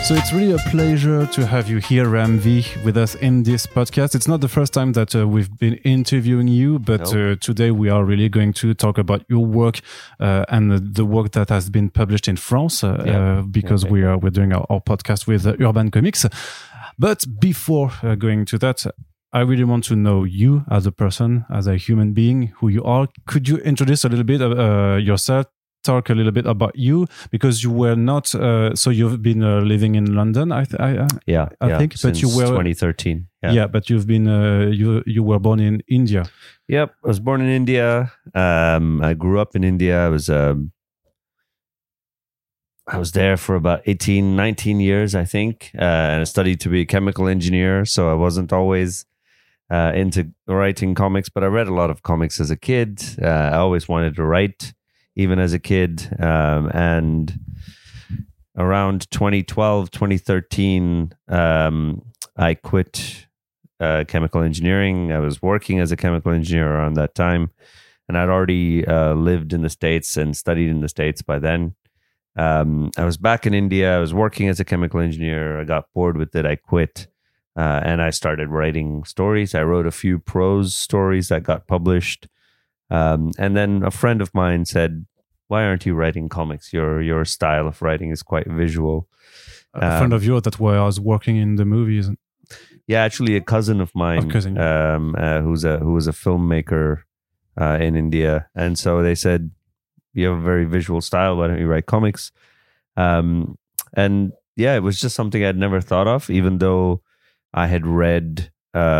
So it's really a pleasure to have you here, Ramvi, with us in this podcast. It's not the first time that we've been interviewing you, but today we are really going to talk about your work and the work that has been published in France because we're doing our podcast with Urban Comics. But before going to that, I really want to know you as a person, as a human being, who you are. Could you introduce a little bit yourself? Talk a little bit about you, because you were not so you've been living in London, I think, but you were 2013. But you've been you were born in India. Yep, I was born in India. I grew up in India. I was there for about 19 years, I think, and I studied to be a chemical engineer, so I wasn't always into writing comics, but I read a lot of comics as a kid. I always wanted to write, even as a kid. And around 2012, 2013, I quit chemical engineering. I was working as a chemical engineer around that time. And I'd already lived in the States and studied in the States by then. I was back in India. I was working as a chemical engineer. I got bored with it. I quit. And I started writing stories. I wrote a few prose stories that got published. And then a friend of mine said, "Why aren't you writing comics? Your style of writing is quite visual." A friend of yours that was working in the movies. Yeah, actually a cousin of mine, who was a filmmaker in India. And so they said, "You have a very visual style. Why don't you write comics?" And yeah, it was just something I'd never thought of, even though I had read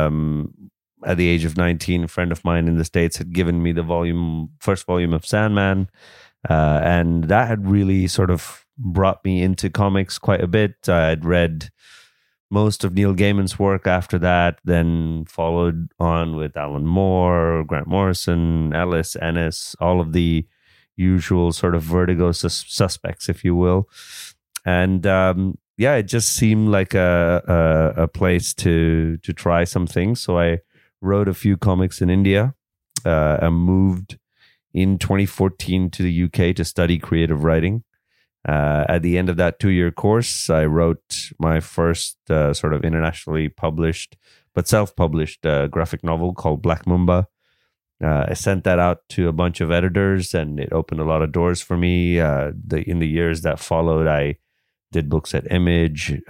at the age of 19, a friend of mine in the States had given me the first volume of Sandman. And that had really sort of brought me into comics quite a bit. I'd read most of Neil Gaiman's work after that, then followed on with Alan Moore, Grant Morrison, Ellis, Ennis, all of the usual sort of Vertigo suspects, if you will. And it just seemed like a place to try some things. So I wrote a few comics in India. I moved in 2014 to the UK to study creative writing. At the end of that 2-year course, I wrote my first sort of internationally published but self-published graphic novel called Black Mamba. I sent that out to a bunch of editors, and it opened a lot of doors for me. In the years that followed, I did books at Image,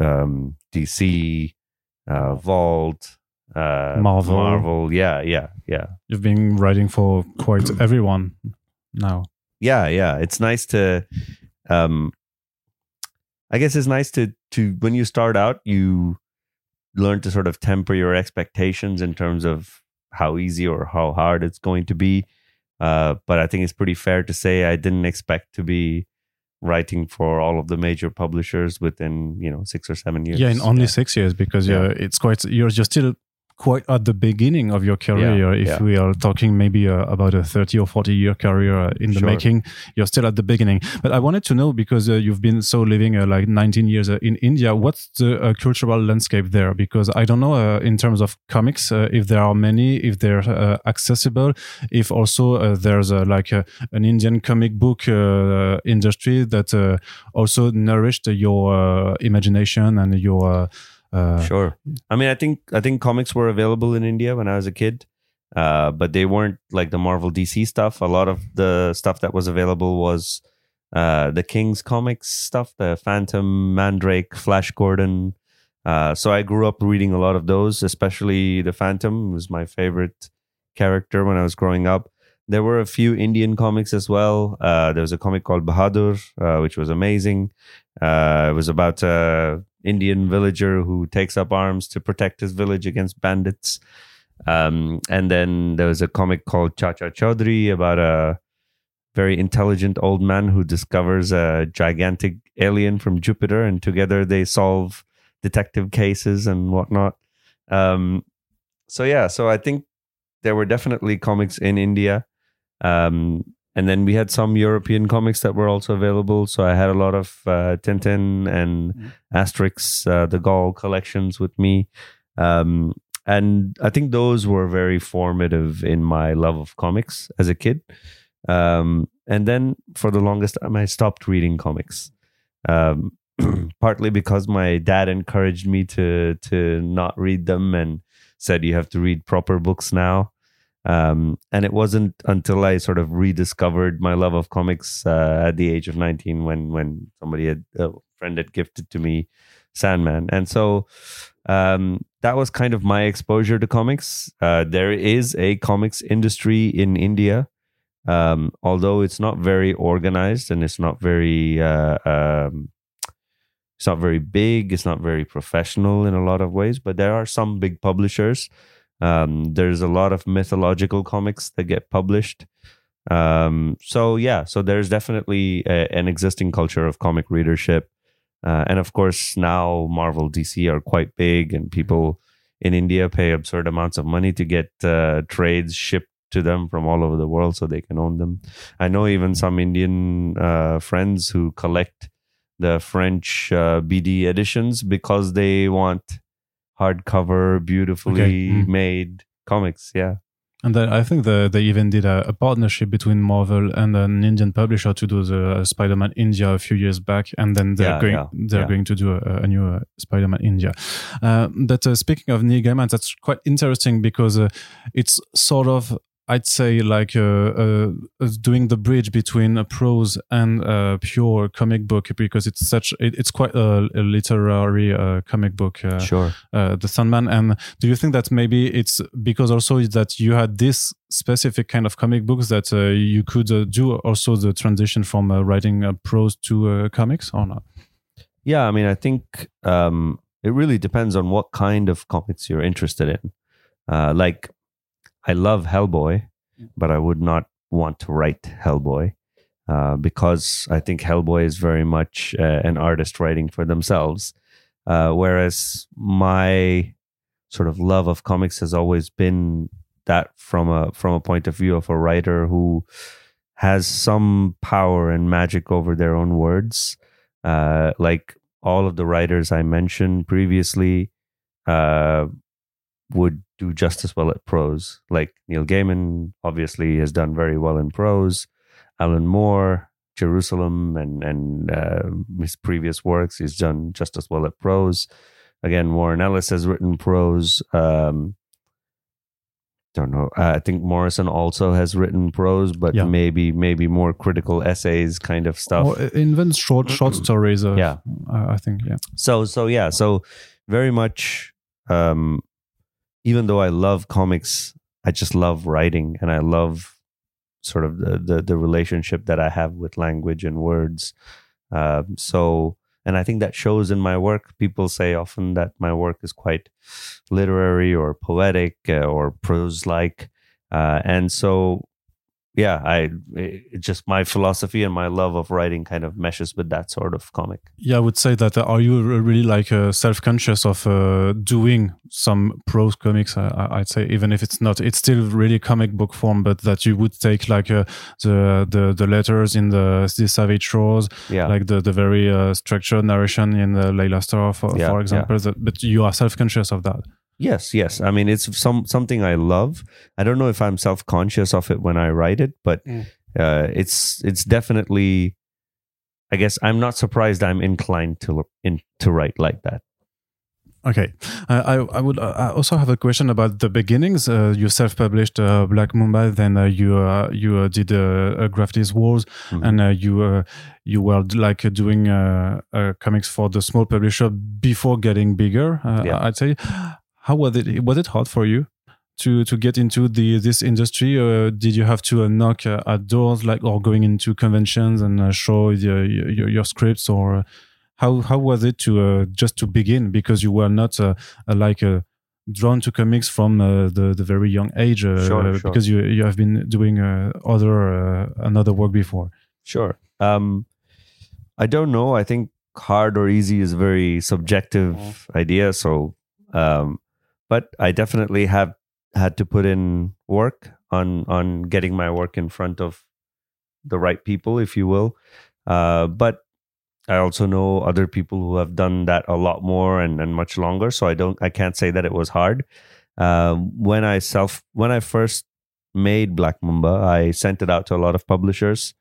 DC, Vault, Marvel. Yeah. You've been writing for quite everyone now. Yeah. It's nice to, I guess it's nice to when you start out, you learn to sort of temper your expectations in terms of how easy or how hard it's going to be. But I think it's pretty fair to say I didn't expect to be writing for all of the major publishers within 6 or 7 years. Yeah, in only 6 years, because it's quite, you're still quite at the beginning of your career. If we are talking maybe about a 30 or 40 year career in the making, you're still at the beginning. But I wanted to know, because you've been living like 19 years in India, what's the cultural landscape there? Because I don't know in terms of comics, if there are many, if they're accessible, if also there's an Indian comic book industry that also nourished your imagination and your sure. I mean, I think comics were available in India when I was a kid, but they weren't like the Marvel DC stuff. A lot of the stuff that was available was the King's Comics stuff, the Phantom, Mandrake, Flash Gordon. So I grew up reading a lot of those, especially the Phantom was my favorite character when I was growing up. There were a few Indian comics as well. There was a comic called Bahadur, which was amazing. It was about Indian villager who takes up arms to protect his village against bandits. And then there was a comic called Chacha Chaudhary about a very intelligent old man who discovers a gigantic alien from Jupiter, and together they solve detective cases and whatnot. So I think there were definitely comics in India. And then we had some European comics that were also available. So I had a lot of Tintin and Asterix, the Gaul collections with me. And I think those were very formative in my love of comics as a kid. And then for the longest time, I stopped reading comics. partly because my dad encouraged me to not read them and said you have to read proper books now. And it wasn't until I sort of rediscovered my love of comics at the age of 19 when a friend had gifted to me Sandman. And so that was kind of my exposure to comics. There is a comics industry in India, although it's not very organized and it's not very big. It's not very professional in a lot of ways, but there are some big publishers. There's a lot of mythological comics that get published. So there's definitely an existing culture of comic readership. And of course, now Marvel, DC are quite big, and people in India pay absurd amounts of money to get trades shipped to them from all over the world so they can own them. I know even some Indian friends who collect the French BD editions because they want hardcover, beautifully made comics. Yeah. And I think they even did a partnership between Marvel and an Indian publisher to do the Spider-Man India a few years back, and then they're going to do a new Spider-Man India. But speaking of Neil Gaiman, that's quite interesting because it's sort of, I'd say, like doing the bridge between a prose and a pure comic book, because it's quite a literary comic book. Sure. The Sandman. And do you think that maybe it's because also that you had this specific kind of comic books that you could do also the transition from writing prose to comics, or not? Yeah, I mean, I think it really depends on what kind of comics you're interested in. Like, I love Hellboy, but I would not want to write Hellboy because I think Hellboy is very much an artist writing for themselves. Whereas my sort of love of comics has always been that from a point of view of a writer who has some power and magic over their own words. Like all of the writers I mentioned previously would do just as well at prose. Like Neil Gaiman obviously has done very well in prose. Alan Moore, Jerusalem, and his previous works, he's done just as well at prose. Again, Warren Ellis has written prose. Don't know. I think Morrison also has written prose, but maybe more critical essays kind of stuff. Or even short stories. I think. Yeah. So very much. Even though I love comics, I just love writing, and I love sort of the relationship that I have with language and words. And I think that shows in my work. People say often that my work is quite literary or poetic or prose-like. And so, just my philosophy and my love of writing kind of meshes with that sort of comic. Yeah, I would say that. Are you really like self-conscious of doing some prose comics? I'd say, even if it's still really comic book form, but that you would take like the letters in the Savage Shores, like the very structured narration in Layla Starr, for example. But you are self-conscious of that. Yes. I mean, it's something I love. I don't know if I'm self-conscious of it when I write it, but it's definitely, I guess I'm not surprised I'm inclined to write like that. Okay. I would also have a question about the beginnings. You self-published Black Mumba, then you did Gravity's Wars, and you were like doing comics for the small publisher before getting bigger, I'd say. How was it? Was it hard for you to get into this industry? Did you have to knock at doors, or going into conventions and show your scripts, or how was it to just to begin? Because you were not drawn to comics from the very young age, sure. Because you have been doing another work before. Sure. I don't know. I think hard or easy is a very subjective idea. So. But I definitely have had to put in work on getting my work in front of the right people, if you will. But I also know other people who have done that a lot more and much longer. So I can't say that it was hard. When I first made Black Mumba, I sent it out to a lot of publishers.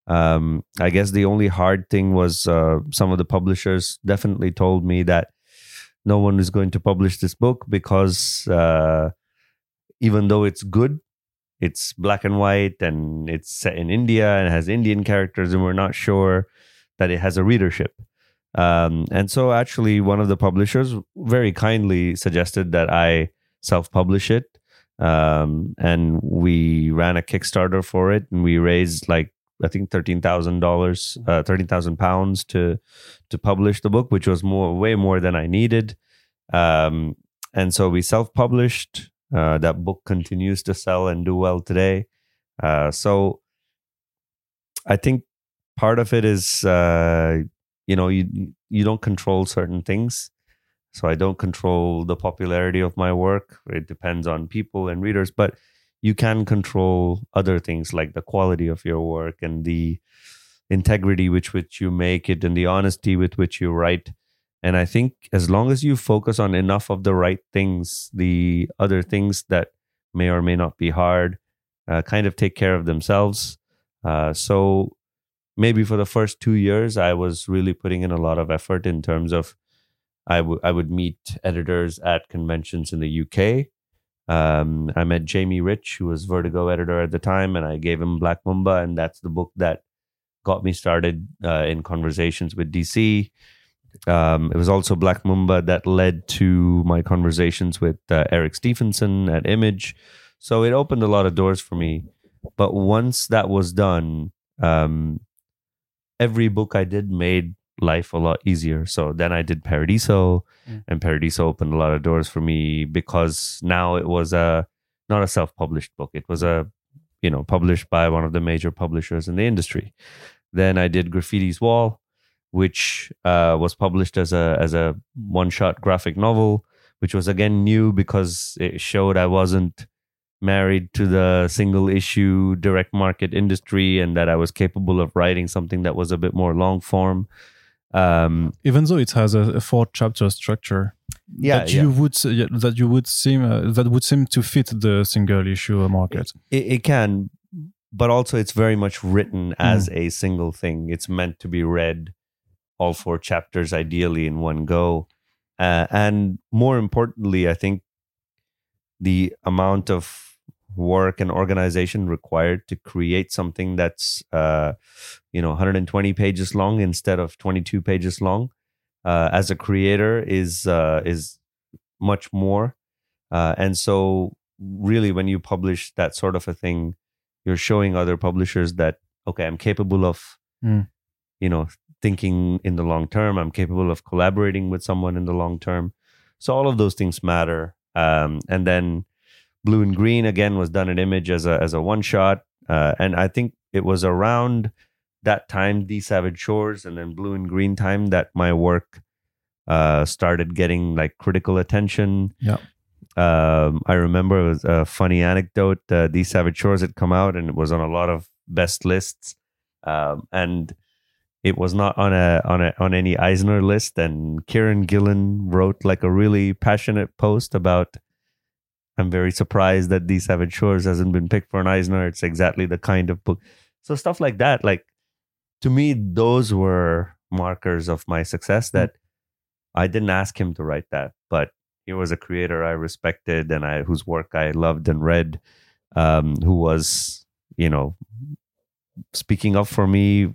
I guess the only hard thing was some of the publishers definitely told me that no one is going to publish this book because even though it's good, it's black and white and it's set in India and has Indian characters, and we're not sure that it has a readership. And so actually one of the publishers very kindly suggested that I self-publish it. And we ran a Kickstarter for it, and we raised like, I think £13,000 to publish the book, which was way more than I needed. And so we self-published. That book continues to sell and do well today. So I think part of it is, you don't control certain things. So I don't control the popularity of my work. It depends on people and readers, but you can control other things like the quality of your work and the integrity with which you make it and the honesty with which you write. And I think as long as you focus on enough of the right things, the other things that may or may not be hard kind of take care of themselves. So maybe for the first 2 years, I was really putting in a lot of effort in terms of I would meet editors at conventions in the UK. I met Jamie Rich, who was Vertigo editor at the time, and I gave him Black Mamba, and that's the book that got me started in conversations with DC. It was also Black Mamba that led to my conversations with Eric Stephenson at Image. So it opened a lot of doors for me. But once that was done, every book I did made life a lot easier. So then I did Paradiso, and Paradiso opened a lot of doors for me because now it was not a self-published book. It was published by one of the major publishers in the industry. Then I did Graffiti's Wall, which was published as a one-shot graphic novel, which was again new because it showed I wasn't married to the single issue direct market industry and that I was capable of writing something that was a bit more long form. Even though it has a 4-chapter structure, that would seem to fit the single issue market. It can, but also it's very much written as a single thing. It's meant to be read all 4 chapters ideally in one go, and more importantly, I think the amount of work and organization required to create something that's 120 pages long instead of 22 pages long as a creator is much more, and so really when you publish that sort of a thing, you're showing other publishers that okay, I'm capable of thinking in the long term. I'm capable of collaborating with someone in the long term. So all of those things matter. And then Blue and Green again was done at Image as a one shot, and I think it was around that time, The Savage Shores and then Blue and Green time, that my work started getting like critical attention. Yeah. I remember it was a funny anecdote. The Savage Shores had come out and it was on a lot of best lists, and it was not on any Eisner list. And Kieran Gillen wrote like a really passionate post about, I'm very surprised that The Savage Shores hasn't been picked for an Eisner. It's exactly the kind of book. So stuff like that, like to me, those were markers of my success, that I didn't ask him to write that, but he was a creator I respected and whose work I loved and read, who was, speaking up for me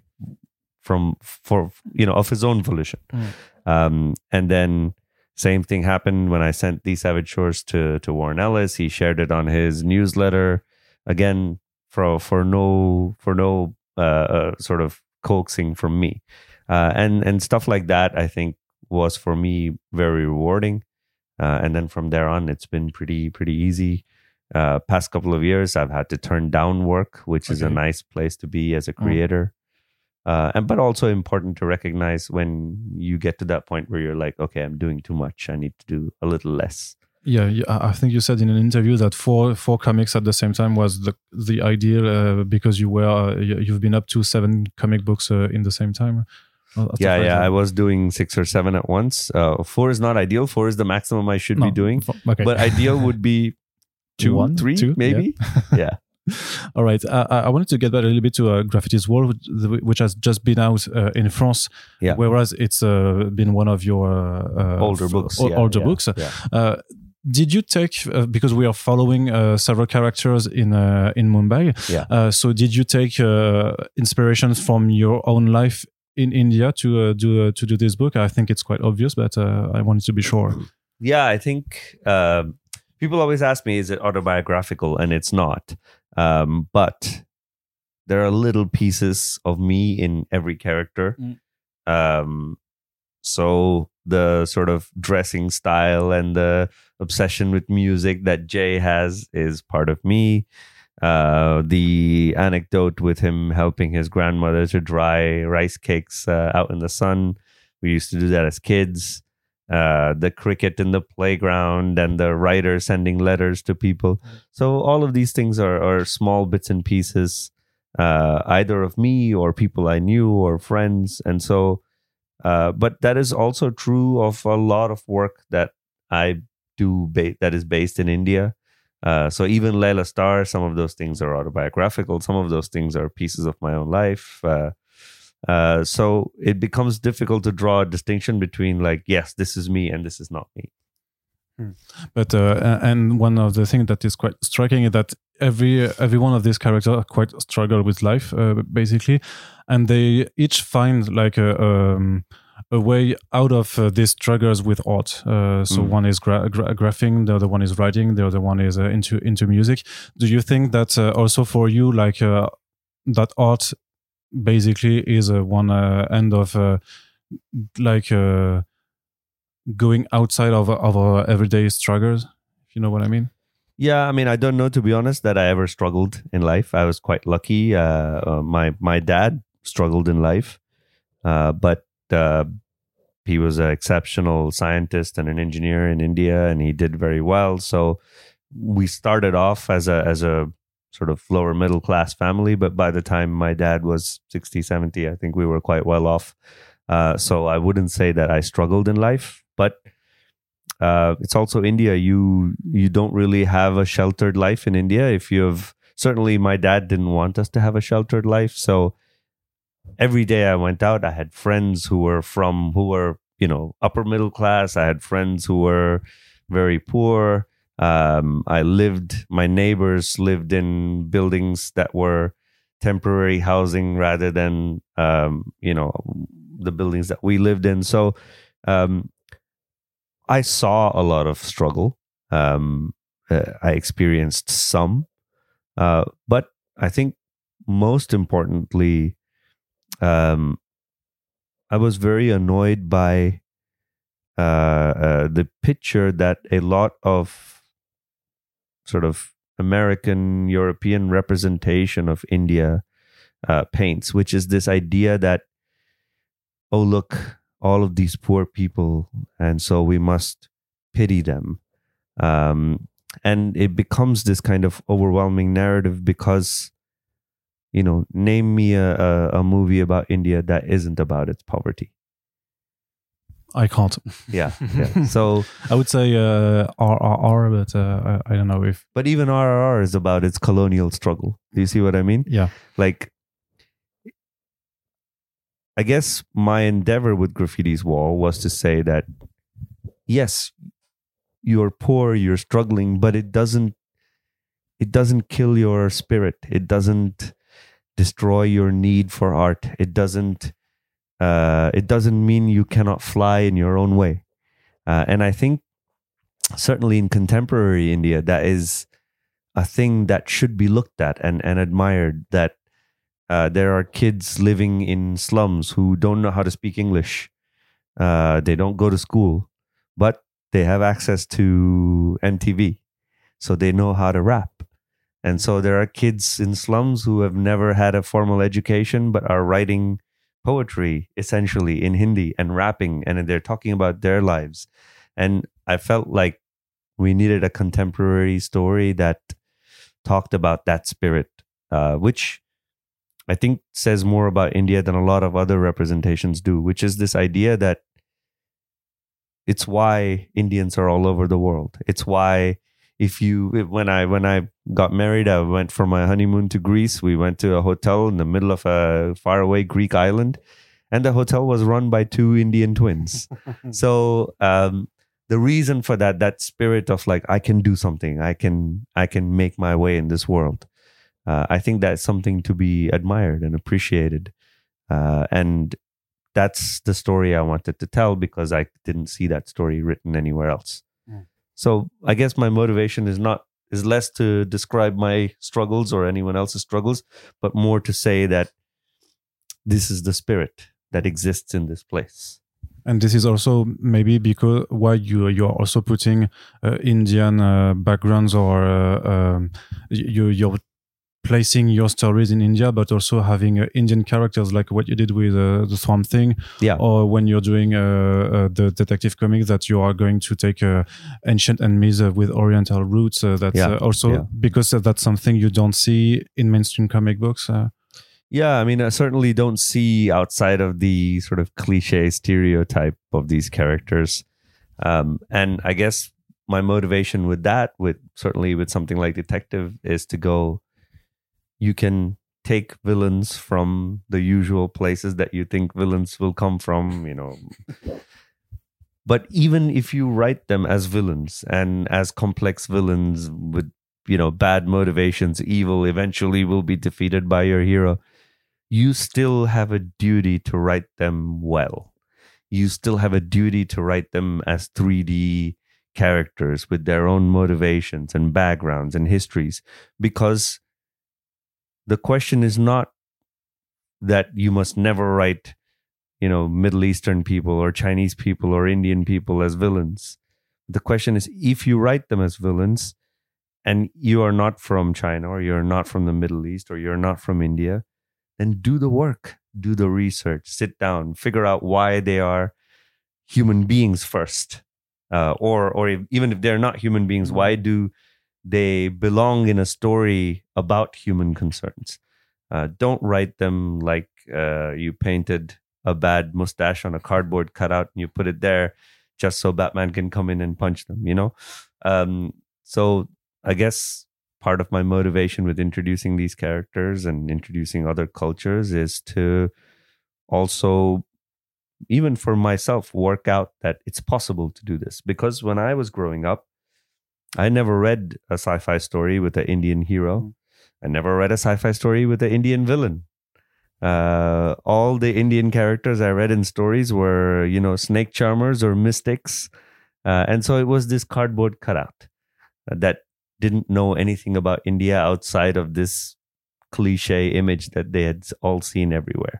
of his own volition. And then same thing happened when I sent The Savage Shores to Warren Ellis. He shared it on his newsletter, again for no sort of coaxing from me, and stuff like that. I think was for me very rewarding, and then from there on, it's been pretty easy. Past couple of years, I've had to turn down work, which is a nice place to be as a creator. But also important to recognize when you get to that point where you're like, okay, I'm doing too much. I need to do a little less. Yeah, I think you said in an interview that four comics at the same time was the ideal because you've been up to 7 comic books in the same time. Yeah. I was doing 6 or 7 at once. 4 is not ideal. 4 is the maximum I should be doing. Okay. But ideal would be 2, 3, maybe. Yeah. All right. I wanted to get back a little bit to Graffiti's Wall, which has just been out in France, whereas it's been one of your older books. Books. Did you take, because we are following several characters in Mumbai, so did you take inspirations from your own life in India to do this book? I think it's quite obvious, but I wanted to be sure. Yeah, I think people always ask me, is it autobiographical? And it's not. But there are little pieces of me in every character. So the sort of dressing style and the obsession with music that Jay has is part of me. The anecdote with him helping his grandmother to dry rice cakes out in the sun. We used to do that as kids. The cricket in the playground and the writer sending letters to people. So all of these things are small bits and pieces, either of me or people I knew or friends. And so, but that is also true of a lot of work that I do that is based in India. So even Layla Star, some of those things are autobiographical. Some of those things are pieces of my own life. So it becomes difficult to draw a distinction between like, yes, this is me and this is not me. But and one of the things that is quite striking is that every one of these characters quite struggle with life, basically, and they each find like a way out of these struggles with art. So one is graphing, the other one is writing, the other one is into music. Do you think that also for you, like that art basically is one end of going outside of our everyday struggles, if you know what I mean? Yeah, I mean, I don't know, to be honest, that I ever struggled in life. I was quite lucky. My dad struggled in life, but he was an exceptional scientist and an engineer in India, and he did very well. So we started off as a sort of lower middle class family, but by the time my dad was 60, 70, I think we were quite well off. So I wouldn't say that I struggled in life, but it's also India. You don't really have a sheltered life in India. Certainly my dad didn't want us to have a sheltered life. So every day I went out, I had friends who were upper middle class. I had friends who were very poor. My neighbors lived in buildings that were temporary housing rather than, the buildings that we lived in. So, I saw a lot of struggle. I experienced some, but I think most importantly, I was very annoyed by the picture that a lot of sort of American, European representation of India paints, which is this idea that, oh, look, all of these poor people, and so we must pity them. And it becomes this kind of overwhelming narrative because, name me a movie about India that isn't about its poverty. I can't. Yeah. So I would say RRR, but I don't know if. But even RRR is about its colonial struggle. Do you see what I mean? Yeah. Like, I guess my endeavor with Graffiti's Wall was to say that, yes, you're poor, you're struggling, but it doesn't kill your spirit. It doesn't destroy your need for art. It doesn't mean you cannot fly in your own way. And I think certainly in contemporary India, that is a thing that should be looked at and admired, that there are kids living in slums who don't know how to speak English. They don't go to school, but they have access to MTV. So they know how to rap. And so there are kids in slums who have never had a formal education, but are writing poetry essentially in Hindi and rapping, and they're talking about their lives. And I felt like we needed a contemporary story that talked about that spirit, which I think says more about India than a lot of other representations do, which is this idea that it's why Indians are all over the world. It's why when I got married, I went for my honeymoon to Greece. We went to a hotel in the middle of a faraway Greek island, and the hotel was run by two Indian twins. So the reason for that spirit of like, I can do something, I can make my way in this world. I think that's something to be admired and appreciated. And that's the story I wanted to tell, because I didn't see that story written anywhere else. So I guess my motivation is less to describe my struggles or anyone else's struggles, but more to say that this is the spirit that exists in this place. And this is also maybe because why you are also putting Indian backgrounds, or you're placing your stories in India, but also having Indian characters, like what you did with the Swamp Thing, or when you're doing the detective comics, that you are going to take ancient enemies with Oriental roots. Because that's something you don't see in mainstream comic books. Yeah, I mean, I certainly don't see outside of the sort of cliche stereotype of these characters. And I guess my motivation with that, certainly with something like Detective, is to go, you can take villains from the usual places that you think villains will come from, But even if you write them as villains and as complex villains with, bad motivations, evil eventually will be defeated by your hero, you still have a duty to write them well. You still have a duty to write them as 3D characters with their own motivations and backgrounds and histories, because the question is not that you must never write, Middle Eastern people or Chinese people or Indian people as villains. The question is, if you write them as villains and you are not from China, or you're not from the Middle East, or you're not from India, then do the work, do the research, sit down, figure out why they are human beings first. Or even if they're not human beings, why do they belong in a story about human concerns? Don't write them like you painted a bad mustache on a cardboard cutout and you put it there just so Batman can come in and punch them, So I guess part of my motivation with introducing these characters and introducing other cultures is to also, even for myself, work out that it's possible to do this. Because when I was growing up, I never read a sci-fi story with an Indian hero. I never read a sci-fi story with an Indian villain. All the Indian characters I read in stories were, snake charmers or mystics. And so it was this cardboard cutout that didn't know anything about India outside of this cliche image that they had all seen everywhere.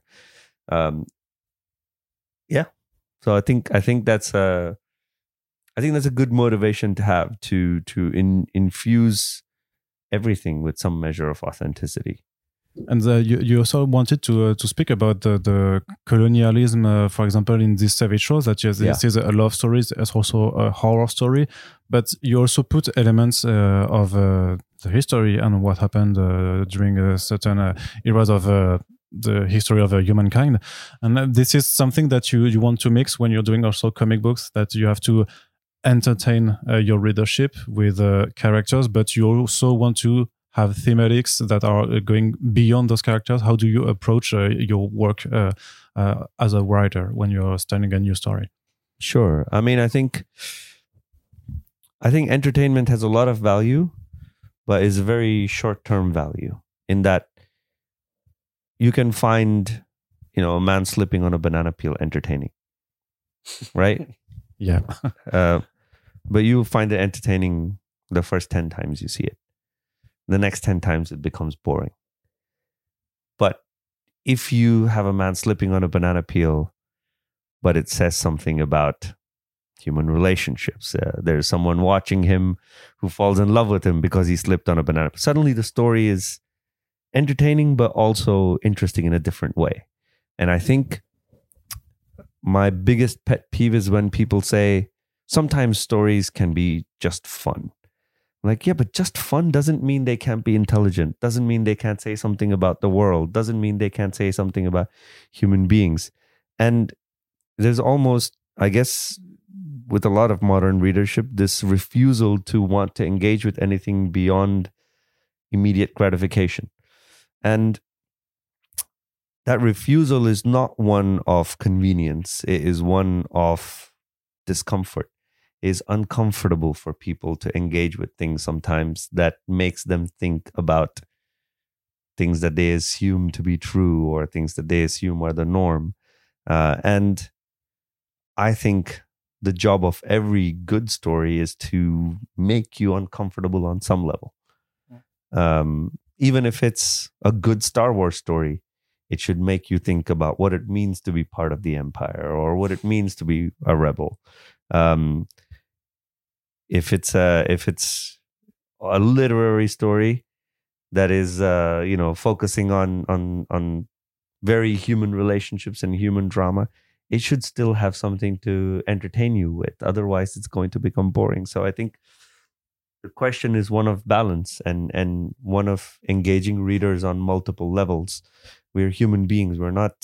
So I think that's a good motivation to have, to infuse everything with some measure of authenticity. And you also wanted to speak about the colonialism, for example, in this Savage Rose, that this is a love story, it's also a horror story, but you also put elements of the history and what happened during certain eras of the history of humankind. And this is something that you want to mix when you're doing also comic books, that you have to entertain your readership with characters, but you also want to have thematics that are going beyond those characters. How do you approach your work as a writer when you're starting a new story? Sure. I mean, I think entertainment has a lot of value, but is a very short-term value, in that you can find, a man slipping on a banana peel entertaining, right? Yeah. But you find it entertaining the first 10 times you see it. The next 10 times it becomes boring. But if you have a man slipping on a banana peel, but it says something about human relationships, there's someone watching him who falls in love with him because he slipped on a banana peel. Suddenly the story is entertaining, but also interesting in a different way. And I think my biggest pet peeve is when people say, sometimes stories can be just fun. Like, yeah, but just fun doesn't mean they can't be intelligent. Doesn't mean they can't say something about the world. Doesn't mean they can't say something about human beings. And there's almost, I guess, with a lot of modern readership, this refusal to want to engage with anything beyond immediate gratification. And that refusal is not one of convenience. It is one of discomfort. It is uncomfortable for people to engage with things sometimes that makes them think about things that they assume to be true or things that they assume are the norm. And I think the job of every good story is to make you uncomfortable on some level. Even if it's a good Star Wars story, it should make you think about what it means to be part of the Empire or what it means to be a rebel. If it's a literary story that is focusing on very human relationships and human drama, it should still have something to entertain you with. Otherwise, it's going to become boring. So I think the question is one of balance and one of engaging readers on multiple levels. We're human beings. We're not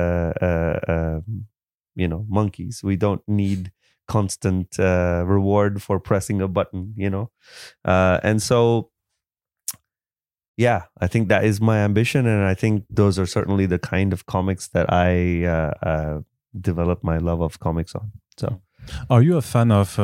monkeys. We don't need constant reward for pressing a button, and so yeah, I think that is my ambition, and I think those are certainly the kind of comics that I develop my love of comics on. So, are you a fan of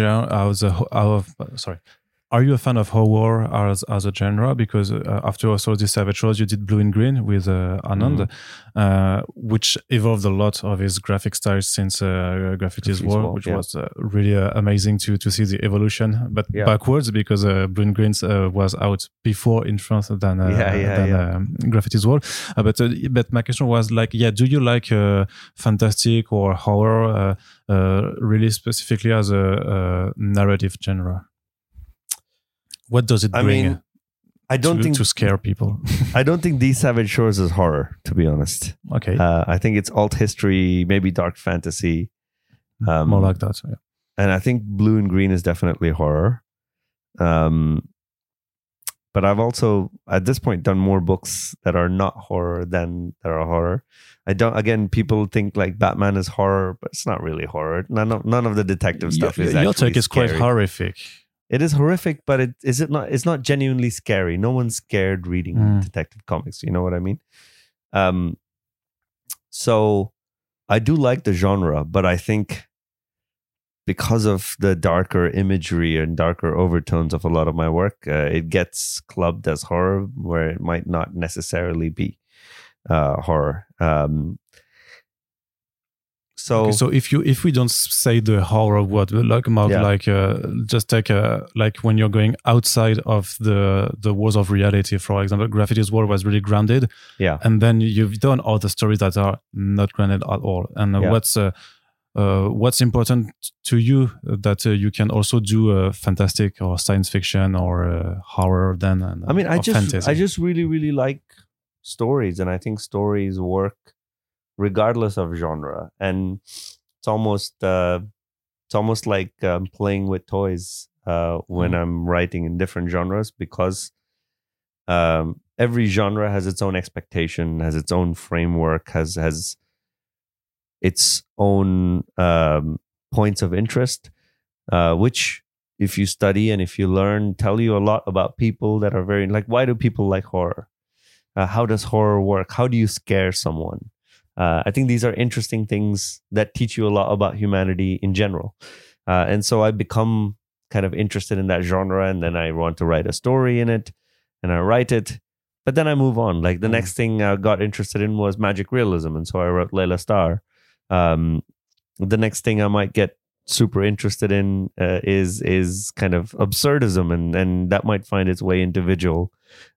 Are you a fan of horror as a genre? Because after also the Savage Rose, you did Blue and Green with Anand, which evolved a lot of his graphic styles since Graffity's War, which was really amazing to see the evolution, but backwards, because Blue and Green was out before in France than Graffity's War. But my question was like, do you like fantastic or horror really specifically as a narrative genre? What does it bring? I don't think to scare people. I don't think These Savage Shores is horror, to be honest. Okay. I think it's alt history, maybe dark fantasy. More like that. Yeah. And I think Blue and Green is definitely horror. But I've also, at this point, done more books that are not horror than that are horror. Again, people think like Batman is horror, but it's not really horror. None of the detective stuff is actually your take is scary. Quite horrific. It is horrific, but it's not genuinely scary. No one's scared reading detective comics. You know what I mean? So I do like the genre, but I think because of the darker imagery and darker overtones of a lot of my work, it gets clubbed as horror where it might not necessarily be horror. So if we don't say the horror word, just take like when you're going outside of the walls of reality, for example, Graffity's War was really grounded, and then you've done all the stories that are not grounded at all. And what's important to you that you can also do fantastic or science fiction or horror then? And I just really, really like stories, and I think stories work regardless of genre, and it's almost like playing with toys when I'm writing in different genres, because every genre has its own expectation, has its own framework, has its own points of interest, which if you study and if you learn, tell you a lot about people that are very like, why do people like horror? How does horror work? How do you scare someone? I think these are interesting things that teach you a lot about humanity in general. And so I become kind of interested in that genre, and then I want to write a story in it, and I write it, but then I move on. Like the next thing I got interested in was magic realism, and so I wrote Layla Starr. The next thing I might get super interested in is kind of absurdism, and that might find its way into visual.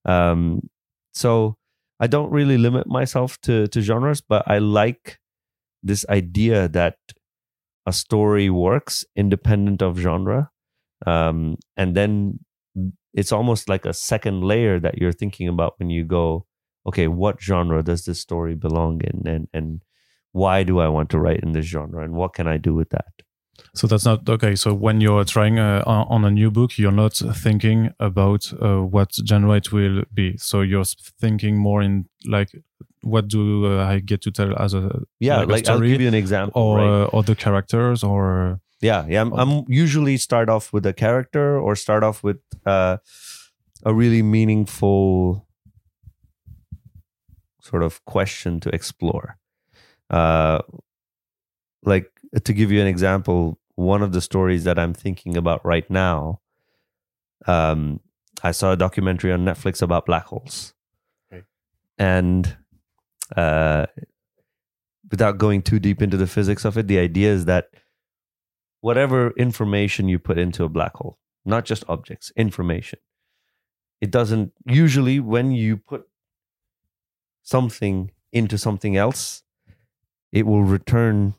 So I don't really limit myself to genres, but I like this idea that a story works independent of genre. And then it's almost like a second layer that you're thinking about when you go, okay, what genre does this story belong in? And why do I want to write in this genre? And what can I do with that? So that's not okay. So when you're trying on a new book, you're not thinking about what genre it will be. So you're thinking more in like, what do I get to tell as a like a story? I'll give you an example, or the characters, or Yeah. I'm usually start off with a character or start off with a really meaningful sort of question to explore. Like, to give you an example, one of the stories that I'm thinking about right now, I saw a documentary on Netflix about black holes. Okay. And without going too deep into the physics of it, the idea is that whatever information you put into a black hole, not just objects, information, it doesn't, usually when you put something into something else, it will return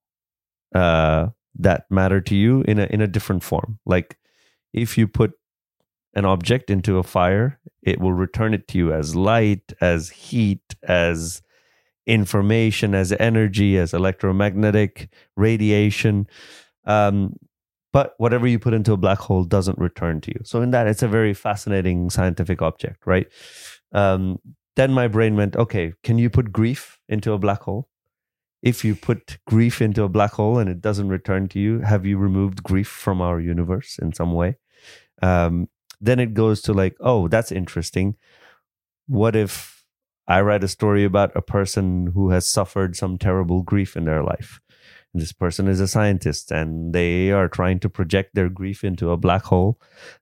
that matter to you in a different form. Like, if you put an object into a fire, it will return it to you as light, as heat, as information, as energy, as electromagnetic radiation. But whatever you put into a black hole doesn't return to you. So in that, it's a very fascinating scientific object, right? Then my brain went, okay, can you put grief into a black hole? If you put grief into a black hole and it doesn't return to you, have you removed grief from our universe in some way? Then it goes to like, oh, that's interesting. What if I write a story about a person who has suffered some terrible grief in their life? And this person is a scientist and they are trying to project their grief into a black hole.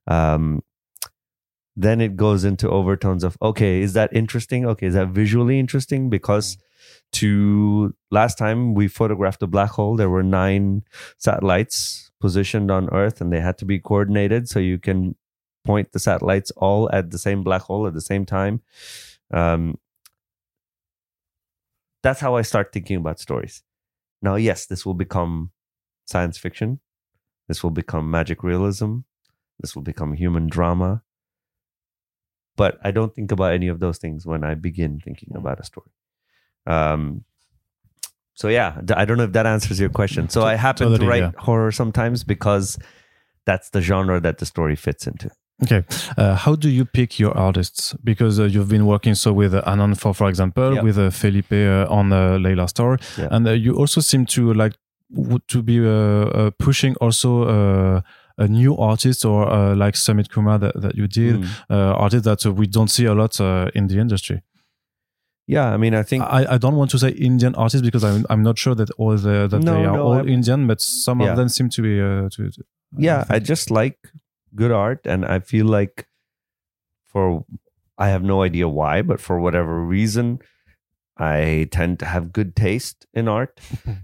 Then it goes into overtones of, okay, is that interesting? Okay, is that visually interesting? Because last time we photographed a black hole, there were 9 satellites positioned on Earth and they had to be coordinated so you can point the satellites all at the same black hole at the same time. That's how I start thinking about stories. Now, yes, this will become science fiction. This will become magic realism. This will become human drama. But I don't think about any of those things when I begin thinking about a story. So yeah, I don't know if that answers your question. So I happen to write horror sometimes because that's the genre that the story fits into. Okay. How do you pick your artists? Because you've been working with Anon, for example, with Felipe on Layla's Story. Yeah. And you also seem to be pushing also a new artist or like Sumit Kumar that you did, artists that we don't see a lot in the industry. Yeah, I mean, I think I don't want to say Indian artists because I'm not sure that they are all Indian, but some of them seem to be. I just like good art, and I feel like I have no idea why, but for whatever reason, I tend to have good taste in art.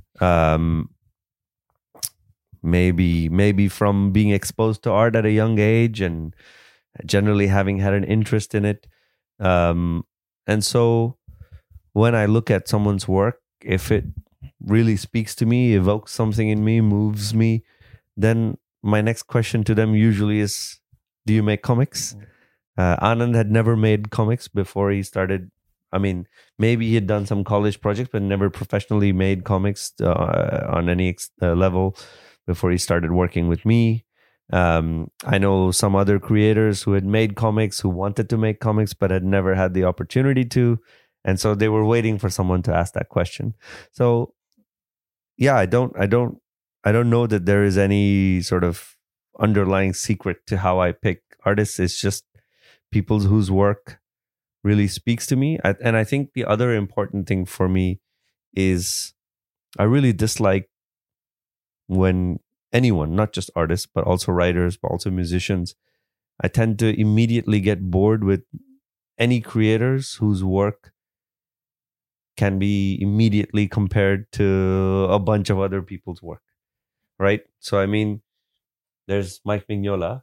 Maybe from being exposed to art at a young age and generally having had an interest in it. And so when I look at someone's work, if it really speaks to me, evokes something in me, moves me, then my next question to them usually is, do you make comics? Anand had never made comics before he started. I mean, maybe he had done some college projects, but never professionally made comics on any level before he started working with me. I know some other creators who had made comics, who wanted to make comics, but had never had the opportunity to. And so they were waiting for someone to ask that question. So yeah, I don't know that there is any sort of underlying secret to how I pick artists. It's just people whose work really speaks to me. And I think the other important thing for me is I really dislike when anyone, not just artists, but also writers, but also musicians, I tend to immediately get bored with any creators whose work can be immediately compared to a bunch of other people's work, right? So, I mean, there's Mike Mignola,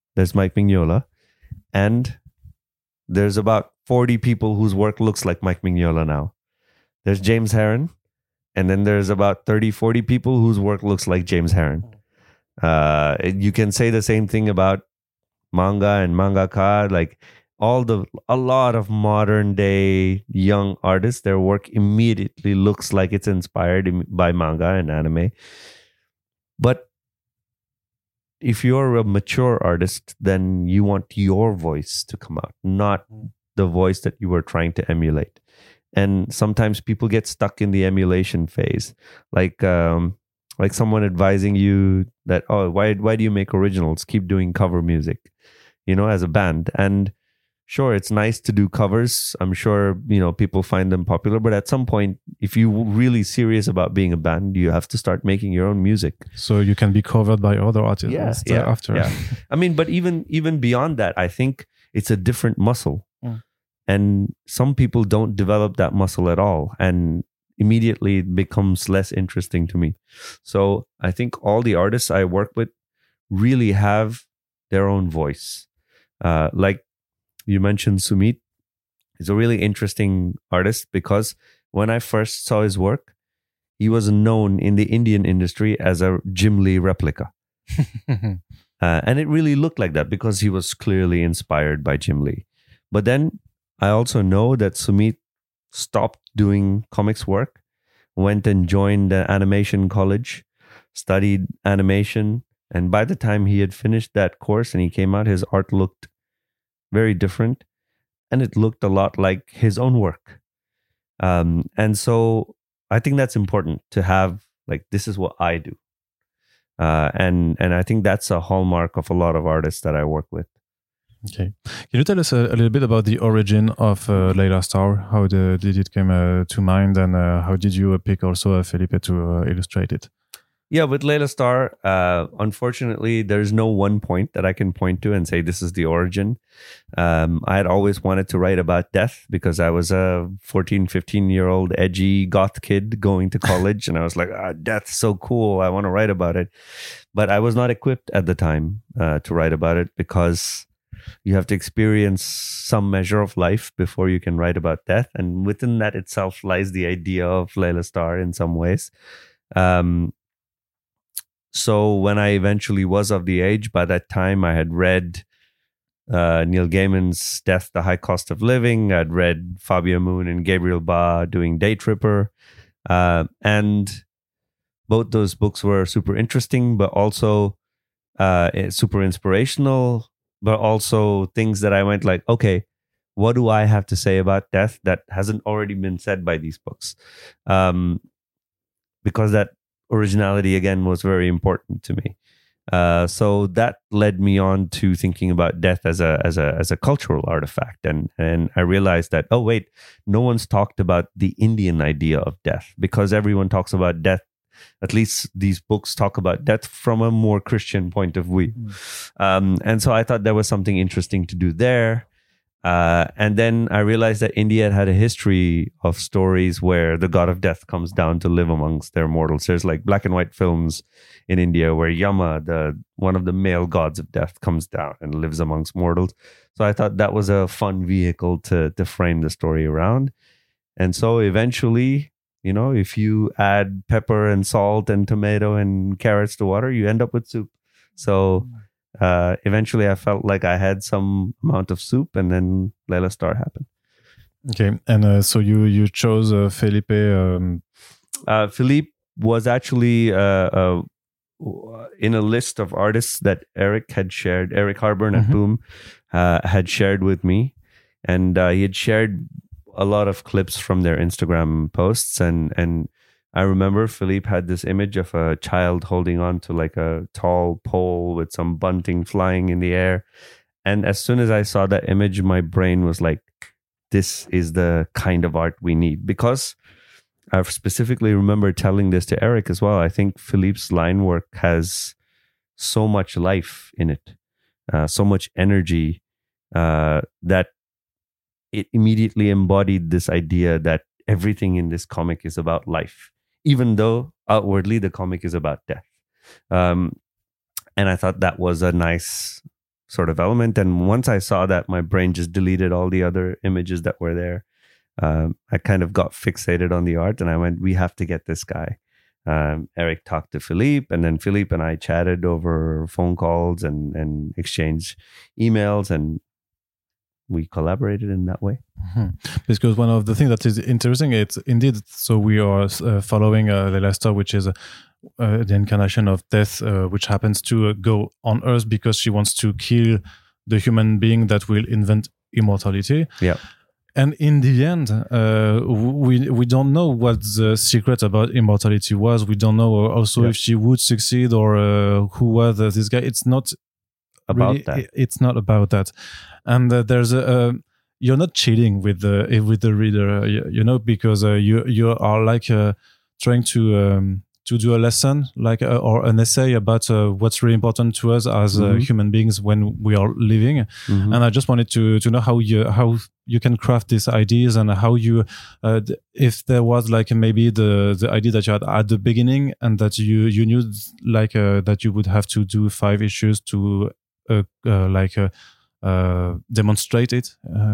and there's about 40 people whose work looks like Mike Mignola now. There's James Harren, and then there's about 30, 40 people whose work looks like James Harren. You can say the same thing about manga and mangaka, like a lot of modern day young artists, their work immediately looks like it's inspired by manga and anime. But if you're a mature artist, then you want your voice to come out, not the voice that you were trying to emulate. And sometimes people get stuck in the emulation phase. Like like someone advising you that, oh, why do you make originals? Keep doing cover music, as a band. And sure, it's nice to do covers. I'm sure, people find them popular. But at some point, if you're really serious about being a band, you have to start making your own music. So you can be covered by other artists after. Yeah. I mean, but even beyond that, I think it's a different muscle. And some people don't develop that muscle at all. And immediately it becomes less interesting to me. So I think all the artists I work with really have their own voice. Like you mentioned, Sumit is a really interesting artist because when I first saw his work, he was known in the Indian industry as a Jim Lee replica. And it really looked like that because he was clearly inspired by Jim Lee. But then I also know that Sumit stopped doing comics work, went and joined the animation college, studied animation. And by the time he had finished that course and he came out, his art looked very different. And it looked a lot like his own work. And so I think that's important to have, like, this is what I do. And I think that's a hallmark of a lot of artists that I work with. Okay. Can you tell us a little bit about the origin of Layla Star? How did it come to mind, and how did you pick also Felipe to illustrate it? Yeah, with Layla Star, unfortunately, there's no one point that I can point to and say this is the origin. I had always wanted to write about death because I was a 14, 15-year-old edgy goth kid going to college. And I was like, death's so cool. I want to write about it. But I was not equipped at the time to write about it because you have to experience some measure of life before you can write about death. And within that itself lies the idea of Layla Star in some ways. So when I eventually was of the age, by that time I had read Neil Gaiman's Death, the High Cost of Living. I'd read Fabio Moon and Gabriel Ba doing Day Tripper. And both those books were super interesting, but also super inspirational, but also things that I went like, okay, what do I have to say about death that hasn't already been said by these books? Because that originality, again, was very important to me. So that led me on to thinking about death as a cultural artifact. And I realized that, oh, wait, no one's talked about the Indian idea of death because everyone talks about death. At least these books talk about death from a more Christian point of view. And so I thought there was something interesting to do there. And then I realized that India had a history of stories where the god of death comes down to live amongst their mortals. There's like black and white films in India where Yama, one of the male gods of death, comes down and lives amongst mortals. So I thought that was a fun vehicle to frame the story around. And so eventually, if you add pepper and salt and tomato and carrots to water, you end up with soup. So eventually I felt like I had some amount of soup, and then Layla Star happened. Okay. And so you chose Felipe. Felipe was actually in a list of artists that Eric had shared. Eric Harburn at Boom had shared with me. And he had shared a lot of clips from their Instagram posts. And I remember Felipe had this image of a child holding on to like a tall pole with some bunting flying in the air. And as soon as I saw that image, my brain was like, this is the kind of art we need. Because I specifically remember telling this to Eric as well. I think Felipe's line work has so much life in it, so much energy, that it immediately embodied this idea that everything in this comic is about life, even though outwardly the comic is about death. And I thought that was a nice sort of element. And once I saw that, my brain just deleted all the other images that were there. I kind of got fixated on the art, and I went, we have to get this guy. Eric talked to Felipe, and then Felipe and I chatted over phone calls and exchanged emails, and we collaborated in that way. Because one of the things that is interesting, it's indeed, so we are following Layla Star, which is the incarnation of death, which happens to go on Earth because she wants to kill the human being that will invent immortality. Yeah. And in the end, we don't know what the secret about immortality was. We don't know also if she would succeed or who was this guy. It's not about really, that. It's not about that. And there's you're not cheating with the reader, because you are like trying to do a lesson, like or an essay about what's really important to us as human beings when we are living. And I just wanted to know how you can craft these ideas and how you if there was like maybe the idea that you had at the beginning and that you knew like that you would have to do 5 issues to demonstrate it,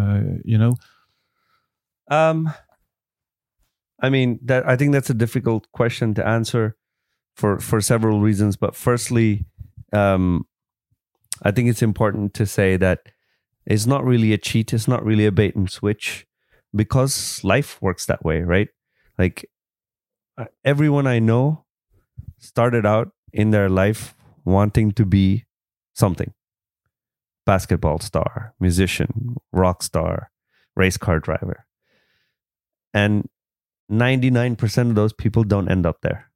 I mean, I think that's a difficult question to answer for several reasons. But firstly, I think it's important to say that it's not really a cheat. It's not really a bait and switch, because life works that way, right? Like everyone I know started out in their life wanting to be something: basketball star, musician, rock star, race car driver. And 99% of those people don't end up there.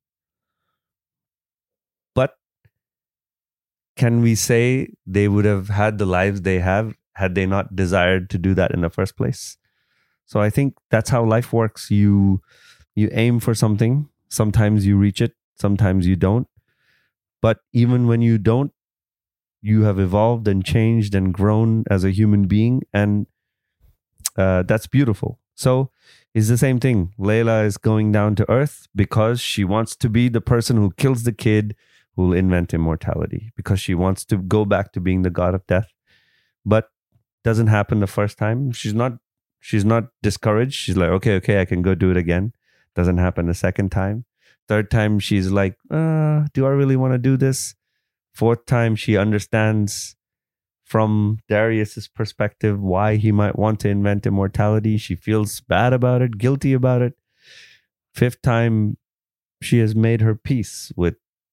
But can we say they would have had the lives they have had they not desired to do that in the first place? So I think that's how life works. You aim for something. Sometimes you reach it. Sometimes you don't. But even when you don't, you have evolved and changed and grown as a human being. And that's beautiful. So it's the same thing. Layla is going down to Earth because she wants to be the person who kills the kid who will invent immortality, because she wants to go back to being the god of death. But doesn't happen the first time. She's not discouraged. She's like, okay, I can go do it again. Doesn't happen the second time. Third time, she's like, do I really want to do this? Fourth time, she understands from Darius's perspective why he might want to invent immortality. She feels bad about it, guilty about it. Fifth time, she has made her peace with,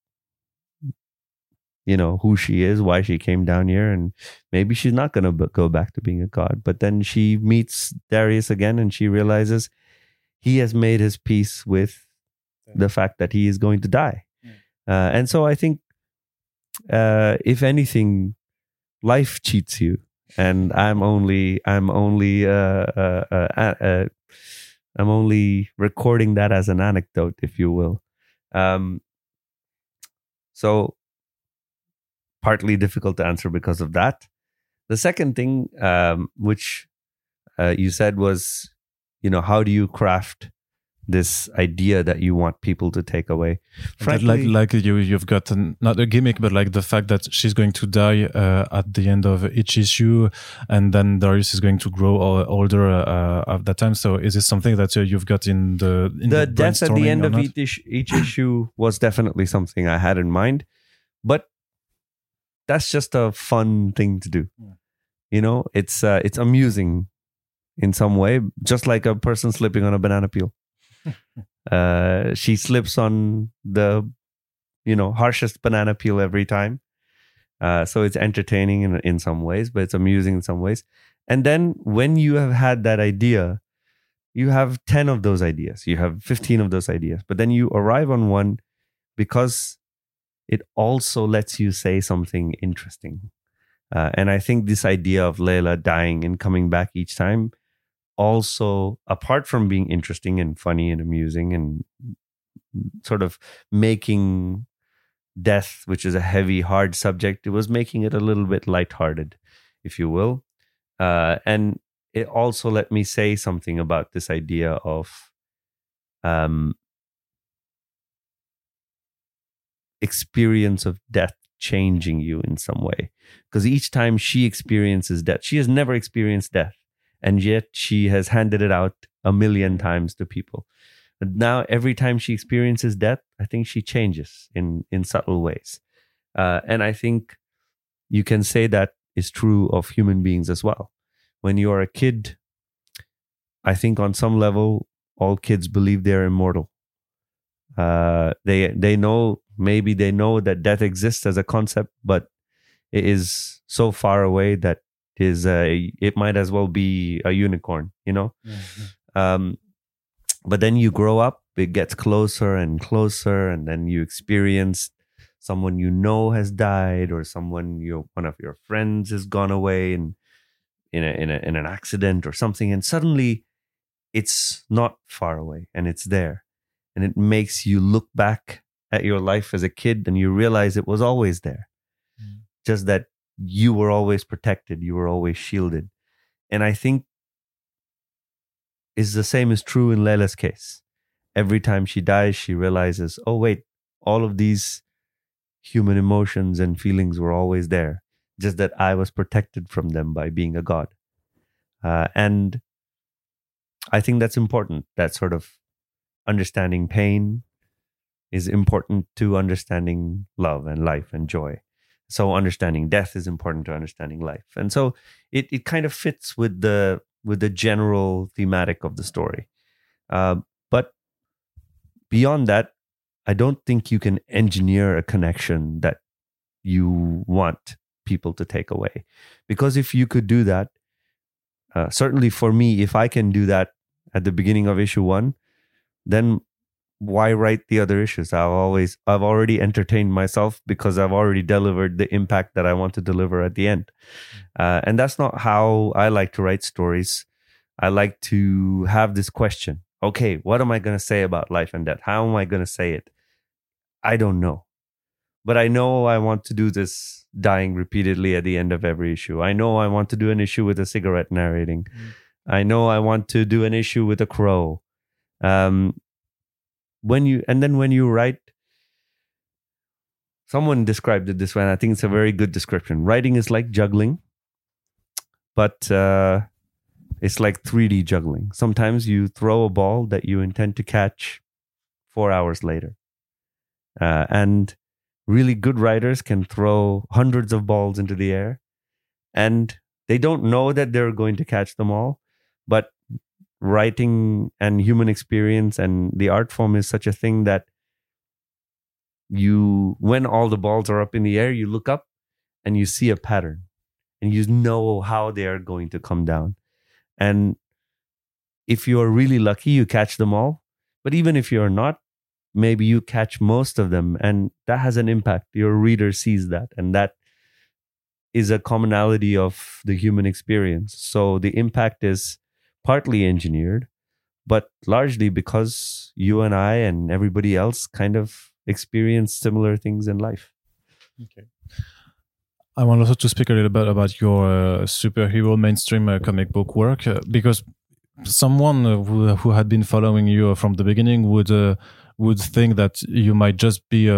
who she is, why she came down here, and maybe she's not going to go back to being a god. But then she meets Darius again and she realizes he has made his peace with the fact that he is going to die. And so I think, if anything, life cheats you, and I'm only recording that as an anecdote, if you will. So partly difficult to answer because of that. The second thing, which you said was, how do you craft this idea that you want people to take away? Frankly, like you've got not a gimmick, but like the fact that she's going to die at the end of each issue, and then Darius is going to grow older at that time. So is this something that you've got in the death at the end of each issue was definitely something I had in mind, but that's just a fun thing to do. Yeah. It's amusing in some way, just like a person slipping on a banana peel. She slips on the harshest banana peel every time, so it's entertaining in some ways, but it's amusing in some ways. And then when you have had that idea, you have 10 of those ideas, you have 15 of those ideas, but then you arrive on one because it also lets you say something interesting. And I think this idea of Layla dying and coming back each time, also, apart from being interesting and funny and amusing and sort of making death, which is a heavy, hard subject, it was making it a little bit lighthearted, if you will. And it also let me say something about this idea of experience of death changing you in some way. Because each time she experiences death, she has never experienced death. And yet she has handed it out 1,000,000 times to people. But now every time she experiences death, I think she changes in subtle ways. And I think you can say that is true of human beings as well. When you're a kid, I think on some level, all kids believe they're immortal. They know that death exists as a concept, but it is so far away that It might as well be a unicorn, Mm-hmm. But then you grow up, it gets closer and closer, and then you experience someone has died, or one of your friends has gone away in an accident or something, and suddenly it's not far away and it's there, and it makes you look back at your life as a kid and you realize it was always there, just that you were always protected, you were always shielded. And I think the same is true in Layla's case. Every time she dies, she realizes, oh wait, all of these human emotions and feelings were always there, just that I was protected from them by being a god. And I think that's important. That sort of understanding pain is important to understanding love and life and joy. So understanding death is important to understanding life. And so it kind of fits with the general thematic of the story. But beyond that, I don't think you can engineer a connection that you want people to take away. Because if you could do that, certainly for me, if I can do that at the beginning of issue 1, then why write the other issues? I've already entertained myself because I've already delivered the impact that I want to deliver at the end. And that's not how I like to write stories. I like to have this question. Okay, what am I going to say about life and death? How am I going to say it? I don't know. But I know I want to do this dying repeatedly at the end of every issue. I know I want to do an issue with a cigarette narrating. I know I want to do an issue with a crow. When you write, someone described it this way, and I think it's a very good description. Writing is like juggling, but it's like 3D juggling. Sometimes you throw a ball that you intend to catch 4 hours later. And really good writers can throw hundreds of balls into the air, and they don't know that they're going to catch them all. But writing and human experience and the art form is such a thing that when all the balls are up in the air, you look up and you see a pattern and you know how they are going to come down. And if you're really lucky, you catch them all. But even if you're not, maybe you catch most of them, and that has an impact. Your reader sees that, and that is a commonality of the human experience. So the impact is partly engineered, but largely because you and I and everybody else kind of experience similar things in life. Okay. I want also to speak a little bit about your superhero mainstream comic book work, because someone who had been following you from the beginning would think that you might just be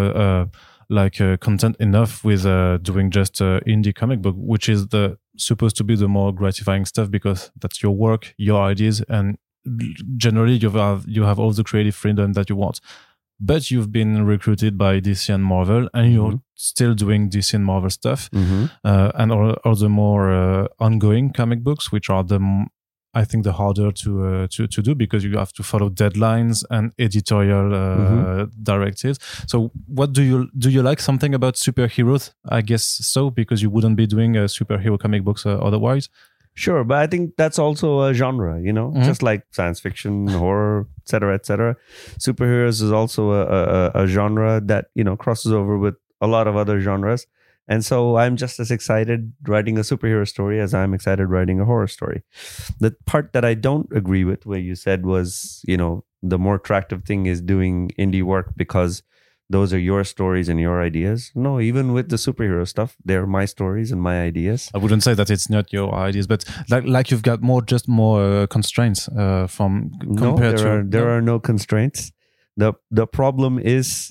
content enough with doing just indie comic book, which is supposed to be the more gratifying stuff, because that's your work, your ideas, and generally you have all the creative freedom that you want. But you've been recruited by DC and Marvel, and you're still doing DC and Marvel stuff, and all the more ongoing comic books, which are I think the harder to do, because you have to follow deadlines and editorial directives. So what do you like something about superheroes? I guess so, because you wouldn't be doing superhero comic books otherwise. Sure, but I think that's also a genre, just like science fiction, horror, etc., etc. Superheroes is also a genre that, crosses over with a lot of other genres. And so I'm just as excited writing a superhero story as I'm excited writing a horror story. The part that I don't agree with, where you said was, the more attractive thing is doing indie work because those are your stories and your ideas. No, even with the superhero stuff, they're my stories and my ideas. I wouldn't say that it's not your ideas, but like you've got more constraints from compared to... There are no constraints. The problem is,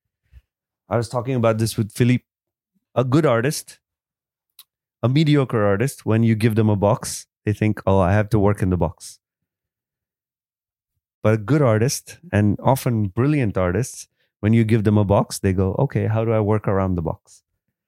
I was talking about this with Philippe. A good artist, a mediocre artist, when you give them a box, they think, oh, I have to work in the box. But a good artist, and often brilliant artists, when you give them a box, they go, okay, how do I work around the box?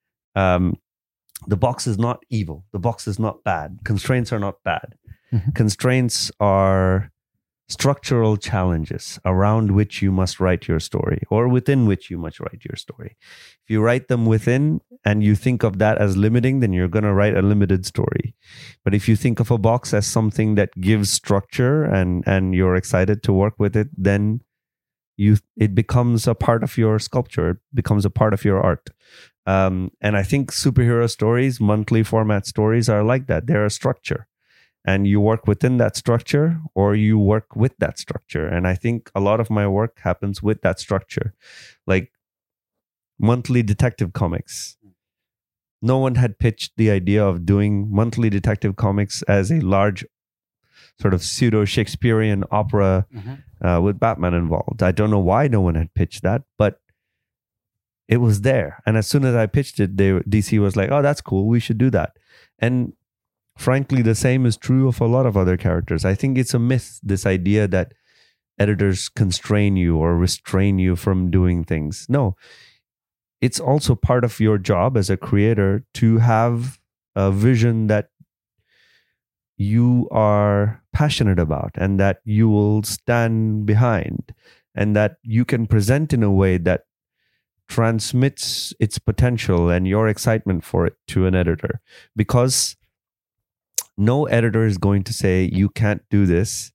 The box is not evil. The box is not bad. Constraints are not bad. Constraints are structural challenges around which you must write your story, or within which you must write your story. If you write them within and you think of that as limiting, then you're going to write a limited story. But if you think of a box as something that gives structure and you're excited to work with it, then it becomes a part of your sculpture. It becomes a part of your art. And I think superhero stories, monthly format stories, are like that. They're a structure. And you work within that structure, or you work with that structure. And I think a lot of my work happens with that structure. Like monthly detective comics. No one had pitched the idea of doing monthly detective comics as a large sort of pseudo-Shakespearean opera with Batman involved. I don't know why no one had pitched that, but it was there. And as soon as I pitched it, DC was like, oh, that's cool. We should do that. And frankly, the same is true of a lot of other characters. I think it's a myth, this idea that editors constrain you or restrain you from doing things. No, it's also part of your job as a creator to have a vision that you are passionate about and that you will stand behind, and that you can present in a way that transmits its potential and your excitement for it to an editor. Because no editor is going to say you can't do this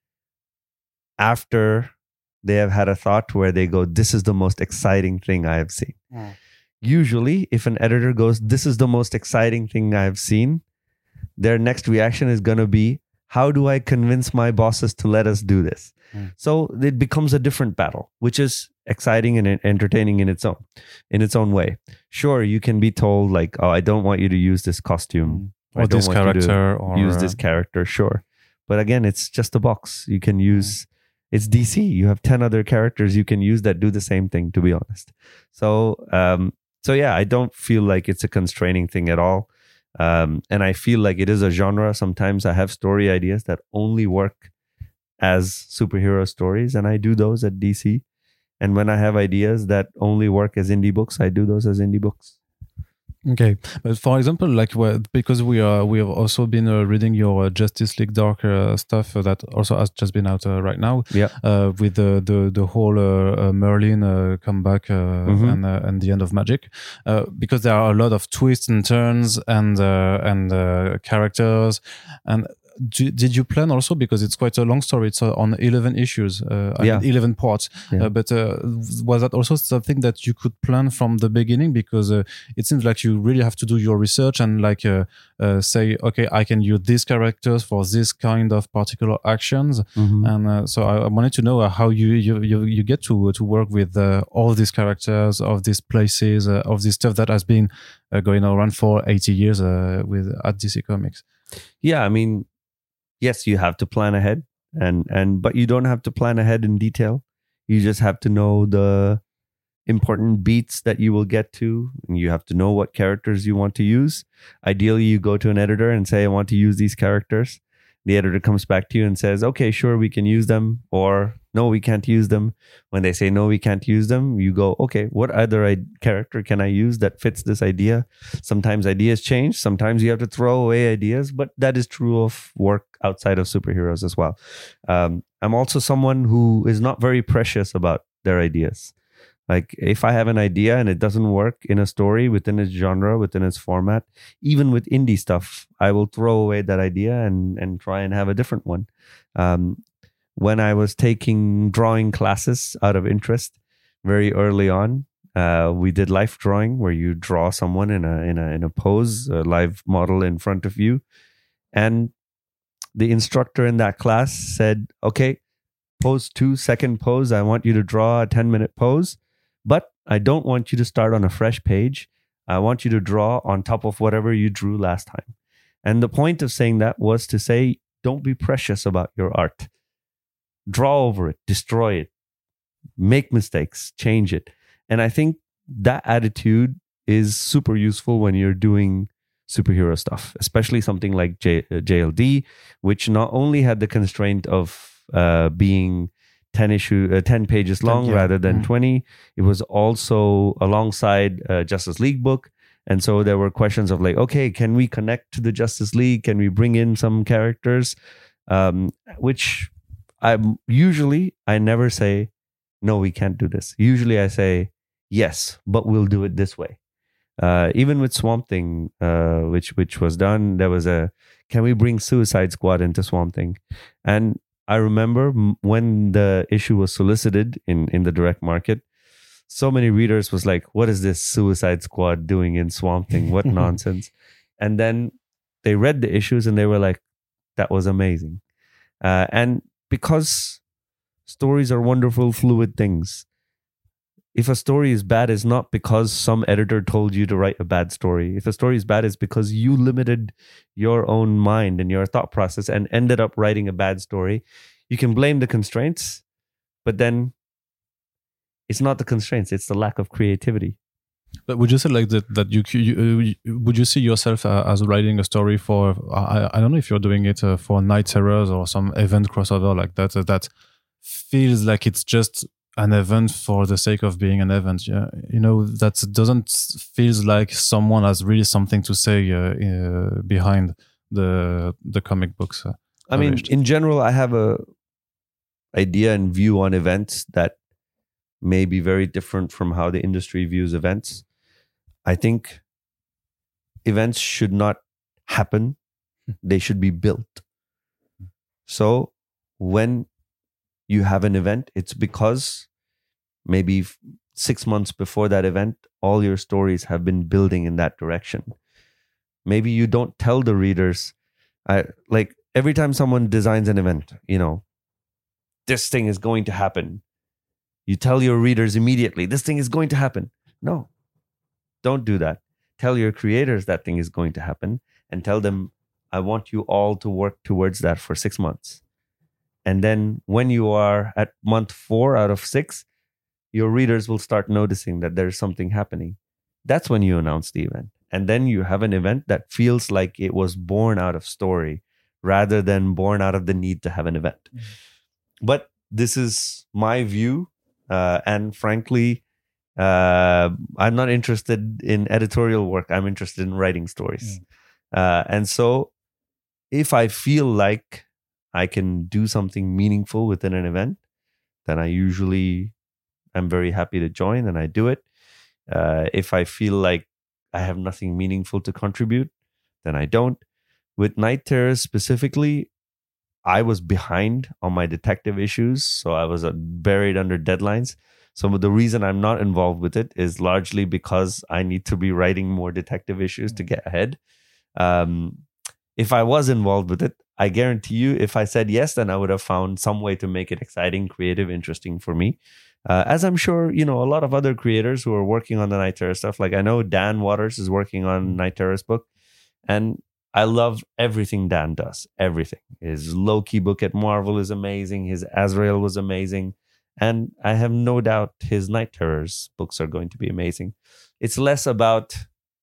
after they have had a thought where they go, this is the most exciting thing I have seen. Usually, if an editor goes, this is the most exciting thing I have seen, their next reaction is going to be, how do I convince my bosses to let us do this? So it becomes a different battle, which is exciting and entertaining in its own way. Sure, you can be told like, oh, I don't want you to use this costume. Or this character, or use this character, sure. But again, it's just a box. You can use, it's DC. You have 10 other characters you can use that do the same thing, to be honest. So yeah, I don't feel like it's a constraining thing at all. And I feel like it is a genre. Sometimes I have story ideas that only work as superhero stories, and I do those at DC. And when I have ideas that only work as indie books, I do those as indie books. Okay, but for example, like because we have also been reading your Justice League Dark stuff that also has just been out right now. Yeah. With the whole Merlin comeback and the end of Magic, because there are a lot of twists and turns and characters. And did you plan also, because it's quite a long story, it's on 11 issues, 11 parts, but was that also something that you could plan from the beginning? Because it seems like you really have to do your research and like say, okay, I can use these characters for this kind of particular actions. And so I wanted to know how you get to work with all these characters of these places, of this stuff that has been going around for 80 years at DC Comics. Yeah, I mean, yes, you have to plan ahead, but you don't have to plan ahead in detail. You just have to know the important beats that you will get to, and you have to know what characters you want to use. Ideally, you go to an editor and say, I want to use these characters. The editor comes back to you and says, okay, sure, we can use them, or no, we can't use them. When they say, no, we can't use them, you go, okay, what other character can I use that fits this idea? Sometimes ideas change. Sometimes you have to throw away ideas, but that is true of work outside of superheroes as well. I'm also someone who is not very precious about their ideas. Like if I have an idea and it doesn't work in a story within its genre, within its format, even with indie stuff, I will throw away that idea and try and have a different one. When I was taking drawing classes out of interest very early on, we did life drawing, where you draw someone in a pose, a live model in front of you. And the instructor in that class said, okay, pose 2, second pose, I want you to draw a 10-minute pose. But I don't want you to start on a fresh page. I want you to draw on top of whatever you drew last time. And the point of saying that was to say, don't be precious about your art. Draw over it, destroy it, make mistakes, change it. And I think that attitude is super useful when you're doing superhero stuff, especially something like JLD, which not only had the constraint of being 10 pages long rather than 20. It was also alongside a Justice League book. And so there were questions of like, okay, can we connect to the Justice League? Can we bring in some characters? Which I never say, no, we can't do this. Usually I say, yes, but we'll do it this way. Even with Swamp Thing, which was done, there was can we bring Suicide Squad into Swamp Thing? And I remember when the issue was solicited in the direct market, so many readers was like, what is this Suicide Squad doing in Swamp Thing? What nonsense. And then they read the issues and they were like, that was amazing. And because stories are wonderful, fluid things, if a story is bad, it's not because some editor told you to write a bad story. If a story is bad, it's because you limited your own mind and your thought process and ended up writing a bad story. You can blame the constraints, but then it's not the constraints, it's the lack of creativity. But would you say like that you would you see yourself as writing a story for, I don't know if you're doing it for Night Terrors or some event crossover like that, that feels like it's just an event for the sake of being an event? Yeah, you know, that doesn't feels like someone has really something to say behind the comic books. I mean, in general, I have a idea and view on events that may be very different from how the industry views events. I think events should not happen. They should be built. So when you have an event, it's because maybe 6 months before that event, all your stories have been building in that direction. Maybe you don't tell the readers, like every time someone designs an event, you know, this thing is going to happen. You tell your readers immediately, this thing is going to happen. No, don't do that. Tell your creators that thing is going to happen and tell them, I want you all to work towards that for 6 months. And then when you are at month 4 out of 6, your readers will start noticing that there's something happening. That's when you announce the event. And then you have an event that feels like it was born out of story rather than born out of the need to have an event. Mm-hmm. But this is my view. And frankly, I'm not interested in editorial work. I'm interested in writing stories. And so if I feel like I can do something meaningful within an event, then I usually am very happy to join and I do it. If I feel like I have nothing meaningful to contribute, then I don't. With Night Terrors specifically, I was behind on my detective issues, so I was buried under deadlines. So the reason I'm not involved with it is largely because I need to be writing more detective issues to get ahead. If I was involved with it, I guarantee you, if I said yes, then I would have found some way to make it exciting, creative, interesting for me. As I'm sure, you know, a lot of other creators who are working on the Night Terror stuff, like I know Dan Waters is working on Night Terror's book, and I love everything Dan does. Everything. His Loki book at Marvel is amazing. His Azrael was amazing. And I have no doubt his Night Terrors books are going to be amazing. It's less about,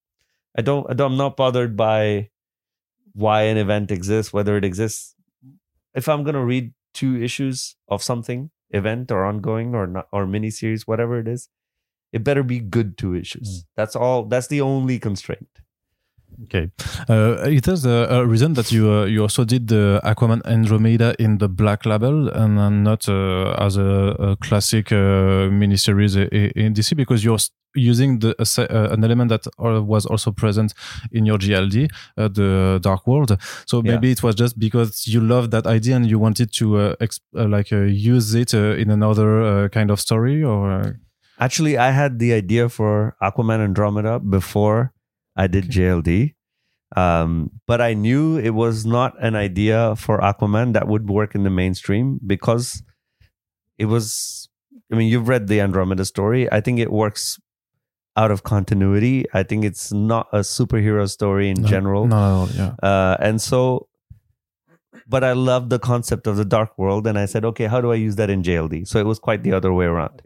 I'm not bothered by why an event exists, whether it exists. If I'm going to read 2 issues of something, event or ongoing or not, or miniseries, whatever it is, it better be good 2 issues. That's all. That's the only constraint. Okay. It is a reason that you also did the Aquaman Andromeda in the Black Label and not as a classic miniseries in DC, because you're using an element that was also present in your GLD, the Dark World. So maybe it was just because you loved that idea and you wanted to use it in another kind of story, or? Actually, I had the idea for Aquaman Andromeda before I did JLD. But I knew it was not an idea for Aquaman that would work in the mainstream because it was, I mean, you've read the Andromeda story. I think it works out of continuity. I think it's not a superhero story in general. No, yeah. And so, but I love the concept of the Dark World. And I said, okay, how do I use that in JLD? So it was quite the other way around.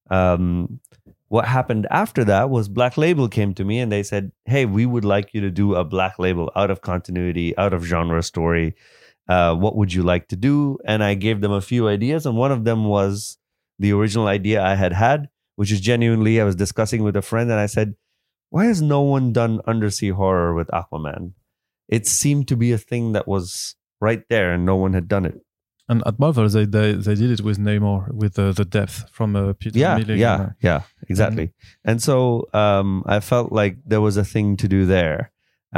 What happened after that was Black Label came to me and they said, hey, we would like you to do a Black Label out of continuity, out of genre story. What would you like to do? And I gave them a few ideas. And one of them was the original idea I had, which is genuinely, I was discussing with a friend and I said, why has no one done undersea horror with Aquaman? It seemed to be a thing that was right there and no one had done it. And at Marvel, they did it with Namor, with the depth from Peter Milling. Yeah, exactly. Mm-hmm. And so I felt like there was a thing to do there.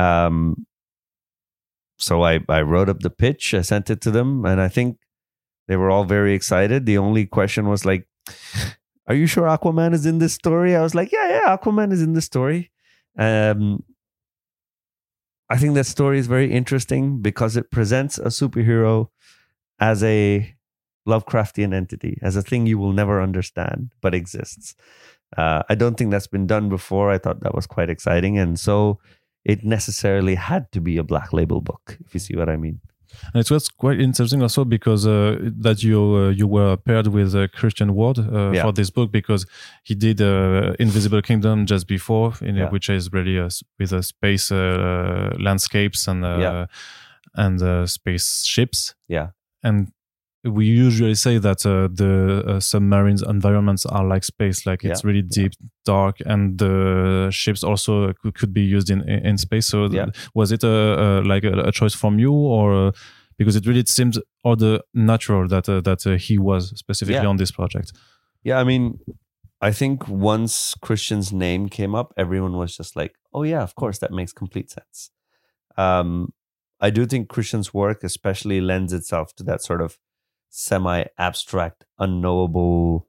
So I wrote up the pitch, I sent it to them, and I think they were all very excited. The only question was like, are you sure Aquaman is in this story? I was like, yeah, Aquaman is in this story. I think that story is very interesting because it presents a superhero as a Lovecraftian entity, as a thing you will never understand, but exists. I don't think that's been done before. I thought that was quite exciting. And so it necessarily had to be a Black Label book, if you see what I mean. And it was quite interesting also because that you were paired with Christian Ward for this book, because he did Invisible Kingdom just before, which is really with space landscapes and spaceships. Yeah. And we usually say that the submarines environments are like space, like it's really deep, dark, and the ships also could be used in space. So was it a choice from you, or because it really seemed other natural that he was specifically on this project? Yeah, I mean, I think once Christian's name came up, everyone was just like, oh yeah, of course, that makes complete sense. I do think Christian's work especially lends itself to that sort of semi-abstract, unknowable,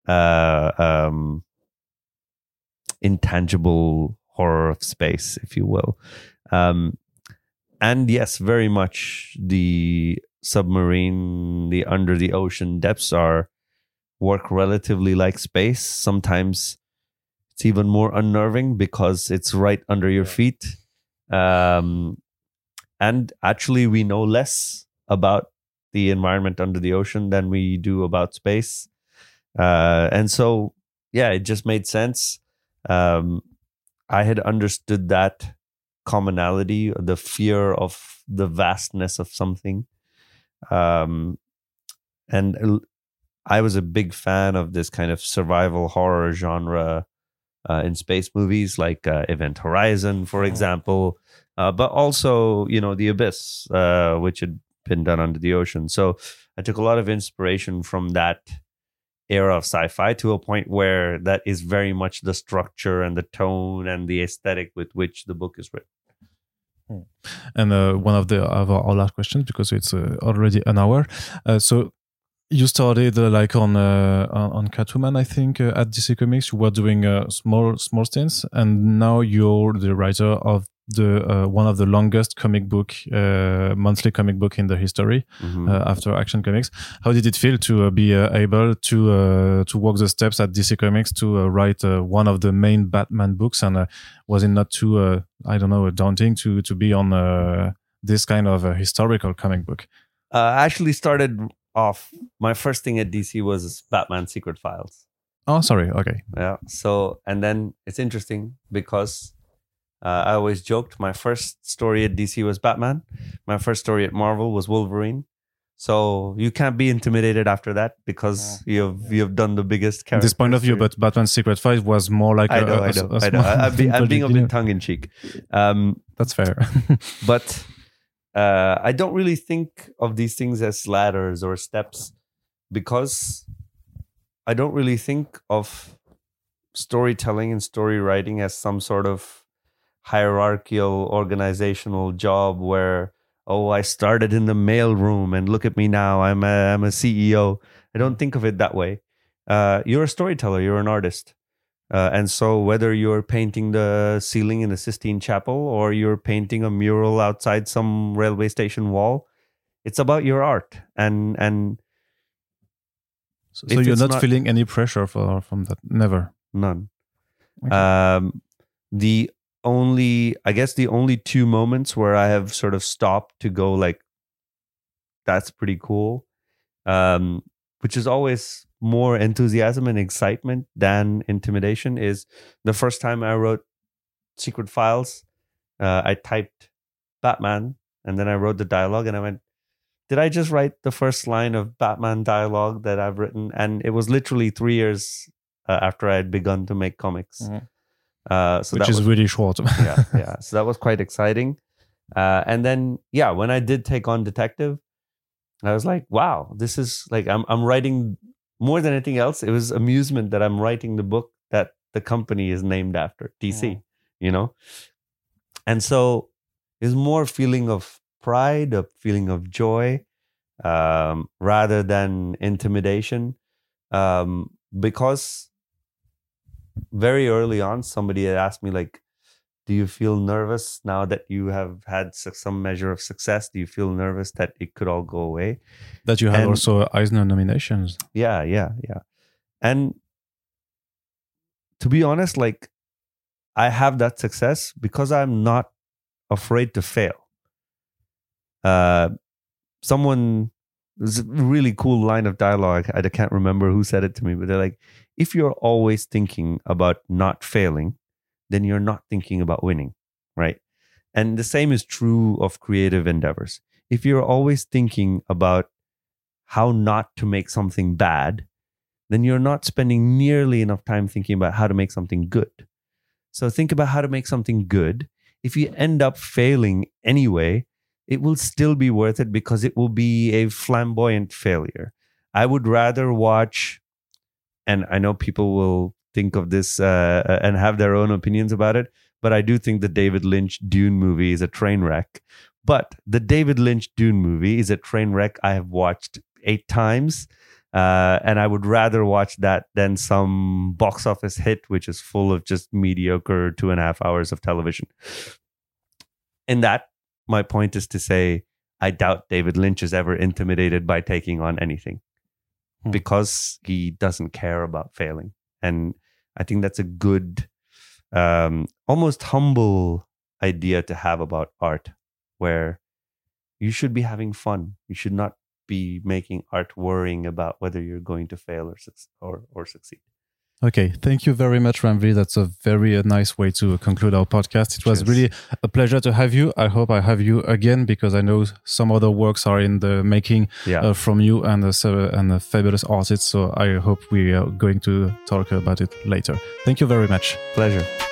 intangible horror of space, if you will. And yes, very much the submarine, the under the ocean depths work relatively like space. Sometimes it's even more unnerving because it's right under your feet. And actually, we know less about the environment under the ocean than we do about space. And so, it just made sense. I had understood that commonality, the fear of the vastness of something. And I was a big fan of this kind of survival horror genre in space movies, like Event Horizon, for example, but also, The Abyss, which had been done under the ocean. So I took a lot of inspiration from that era of sci-fi to a point where that is very much the structure and the tone and the aesthetic with which the book is written. And one of our last questions, because it's already an hour. So you started on Catwoman, I think, at DC Comics. You were doing small stints, and now you're the writer of the one of the longest monthly comic book in the history, after Action Comics. How did it feel to be able to walk the steps at DC Comics to write one of the main Batman books? And was it not too daunting to be on this kind of historical comic book? I actually started off, my first thing at DC was Batman Secret Files. Oh, sorry. Okay. Yeah. So, and then it's interesting because I always joked my first story at DC was Batman. My first story at Marvel was Wolverine. So you can't be intimidated after that because you've done the biggest character. This point of view, but Batman Secret Files was more like I know. I'm being a bit tongue in cheek. That's fair. But I don't really think of these things as ladders or steps, because I don't really think of storytelling and story writing as some sort of hierarchical organizational job where, I started in the mail room and look at me now, I'm a CEO. I don't think of it that way. You're a storyteller, you're an artist. And so whether you're painting the ceiling in the Sistine Chapel or you're painting a mural outside some railway station wall, it's about your art. And so you're not feeling any pressure from that? Never? None. Okay. The only two moments where I have sort of stopped to go like, that's pretty cool, which is always more enthusiasm and excitement than intimidation, is the first time I wrote Secret Files. I typed Batman and then I wrote the dialogue and I went, did I just write the first line of Batman dialogue that I've written? And it was literally 3 years after I had begun to make comics. Mm-hmm. Which is really short. yeah. So that was quite exciting. And then, when I did take on Detective, I was like, wow, this is like, I'm writing more than anything else. It was amusement that I'm writing the book that the company is named after, TC, And so it's more feeling of pride, a feeling of joy, rather than intimidation. Because very early on, somebody had asked me, like, do you feel nervous now that you have had some measure of success? Do you feel nervous that it could all go away? That you had also Eisner nominations. Yeah. And to be honest, like, I have that success because I'm not afraid to fail. Someone, there's a really cool line of dialogue. I can't remember who said it to me, but they're like, if you're always thinking about not failing, then you're not thinking about winning, right? And the same is true of creative endeavors. If you're always thinking about how not to make something bad, then you're not spending nearly enough time thinking about how to make something good. So think about how to make something good. If you end up failing anyway, it will still be worth it because it will be a flamboyant failure. I would rather watch, and I know people will think of this and have their own opinions about it, but I do think the David Lynch Dune movie is a train wreck. But the David Lynch Dune movie is a train wreck I have watched 8 times, and I would rather watch that than some box office hit which is full of just mediocre 2.5 hours of television. In that, my point is to say, I doubt David Lynch is ever intimidated by taking on anything because he doesn't care about failing. And I think that's a good, almost humble idea to have about art, where you should be having fun. You should not be making art worrying about whether you're going to fail or succeed. Okay, thank you very much, Ranveer. That's a very nice way to conclude our podcast. It was really a pleasure to have you. I hope I have you again because I know some other works are in the making from you and a fabulous artist. So I hope we are going to talk about it later. Thank you very much. Pleasure.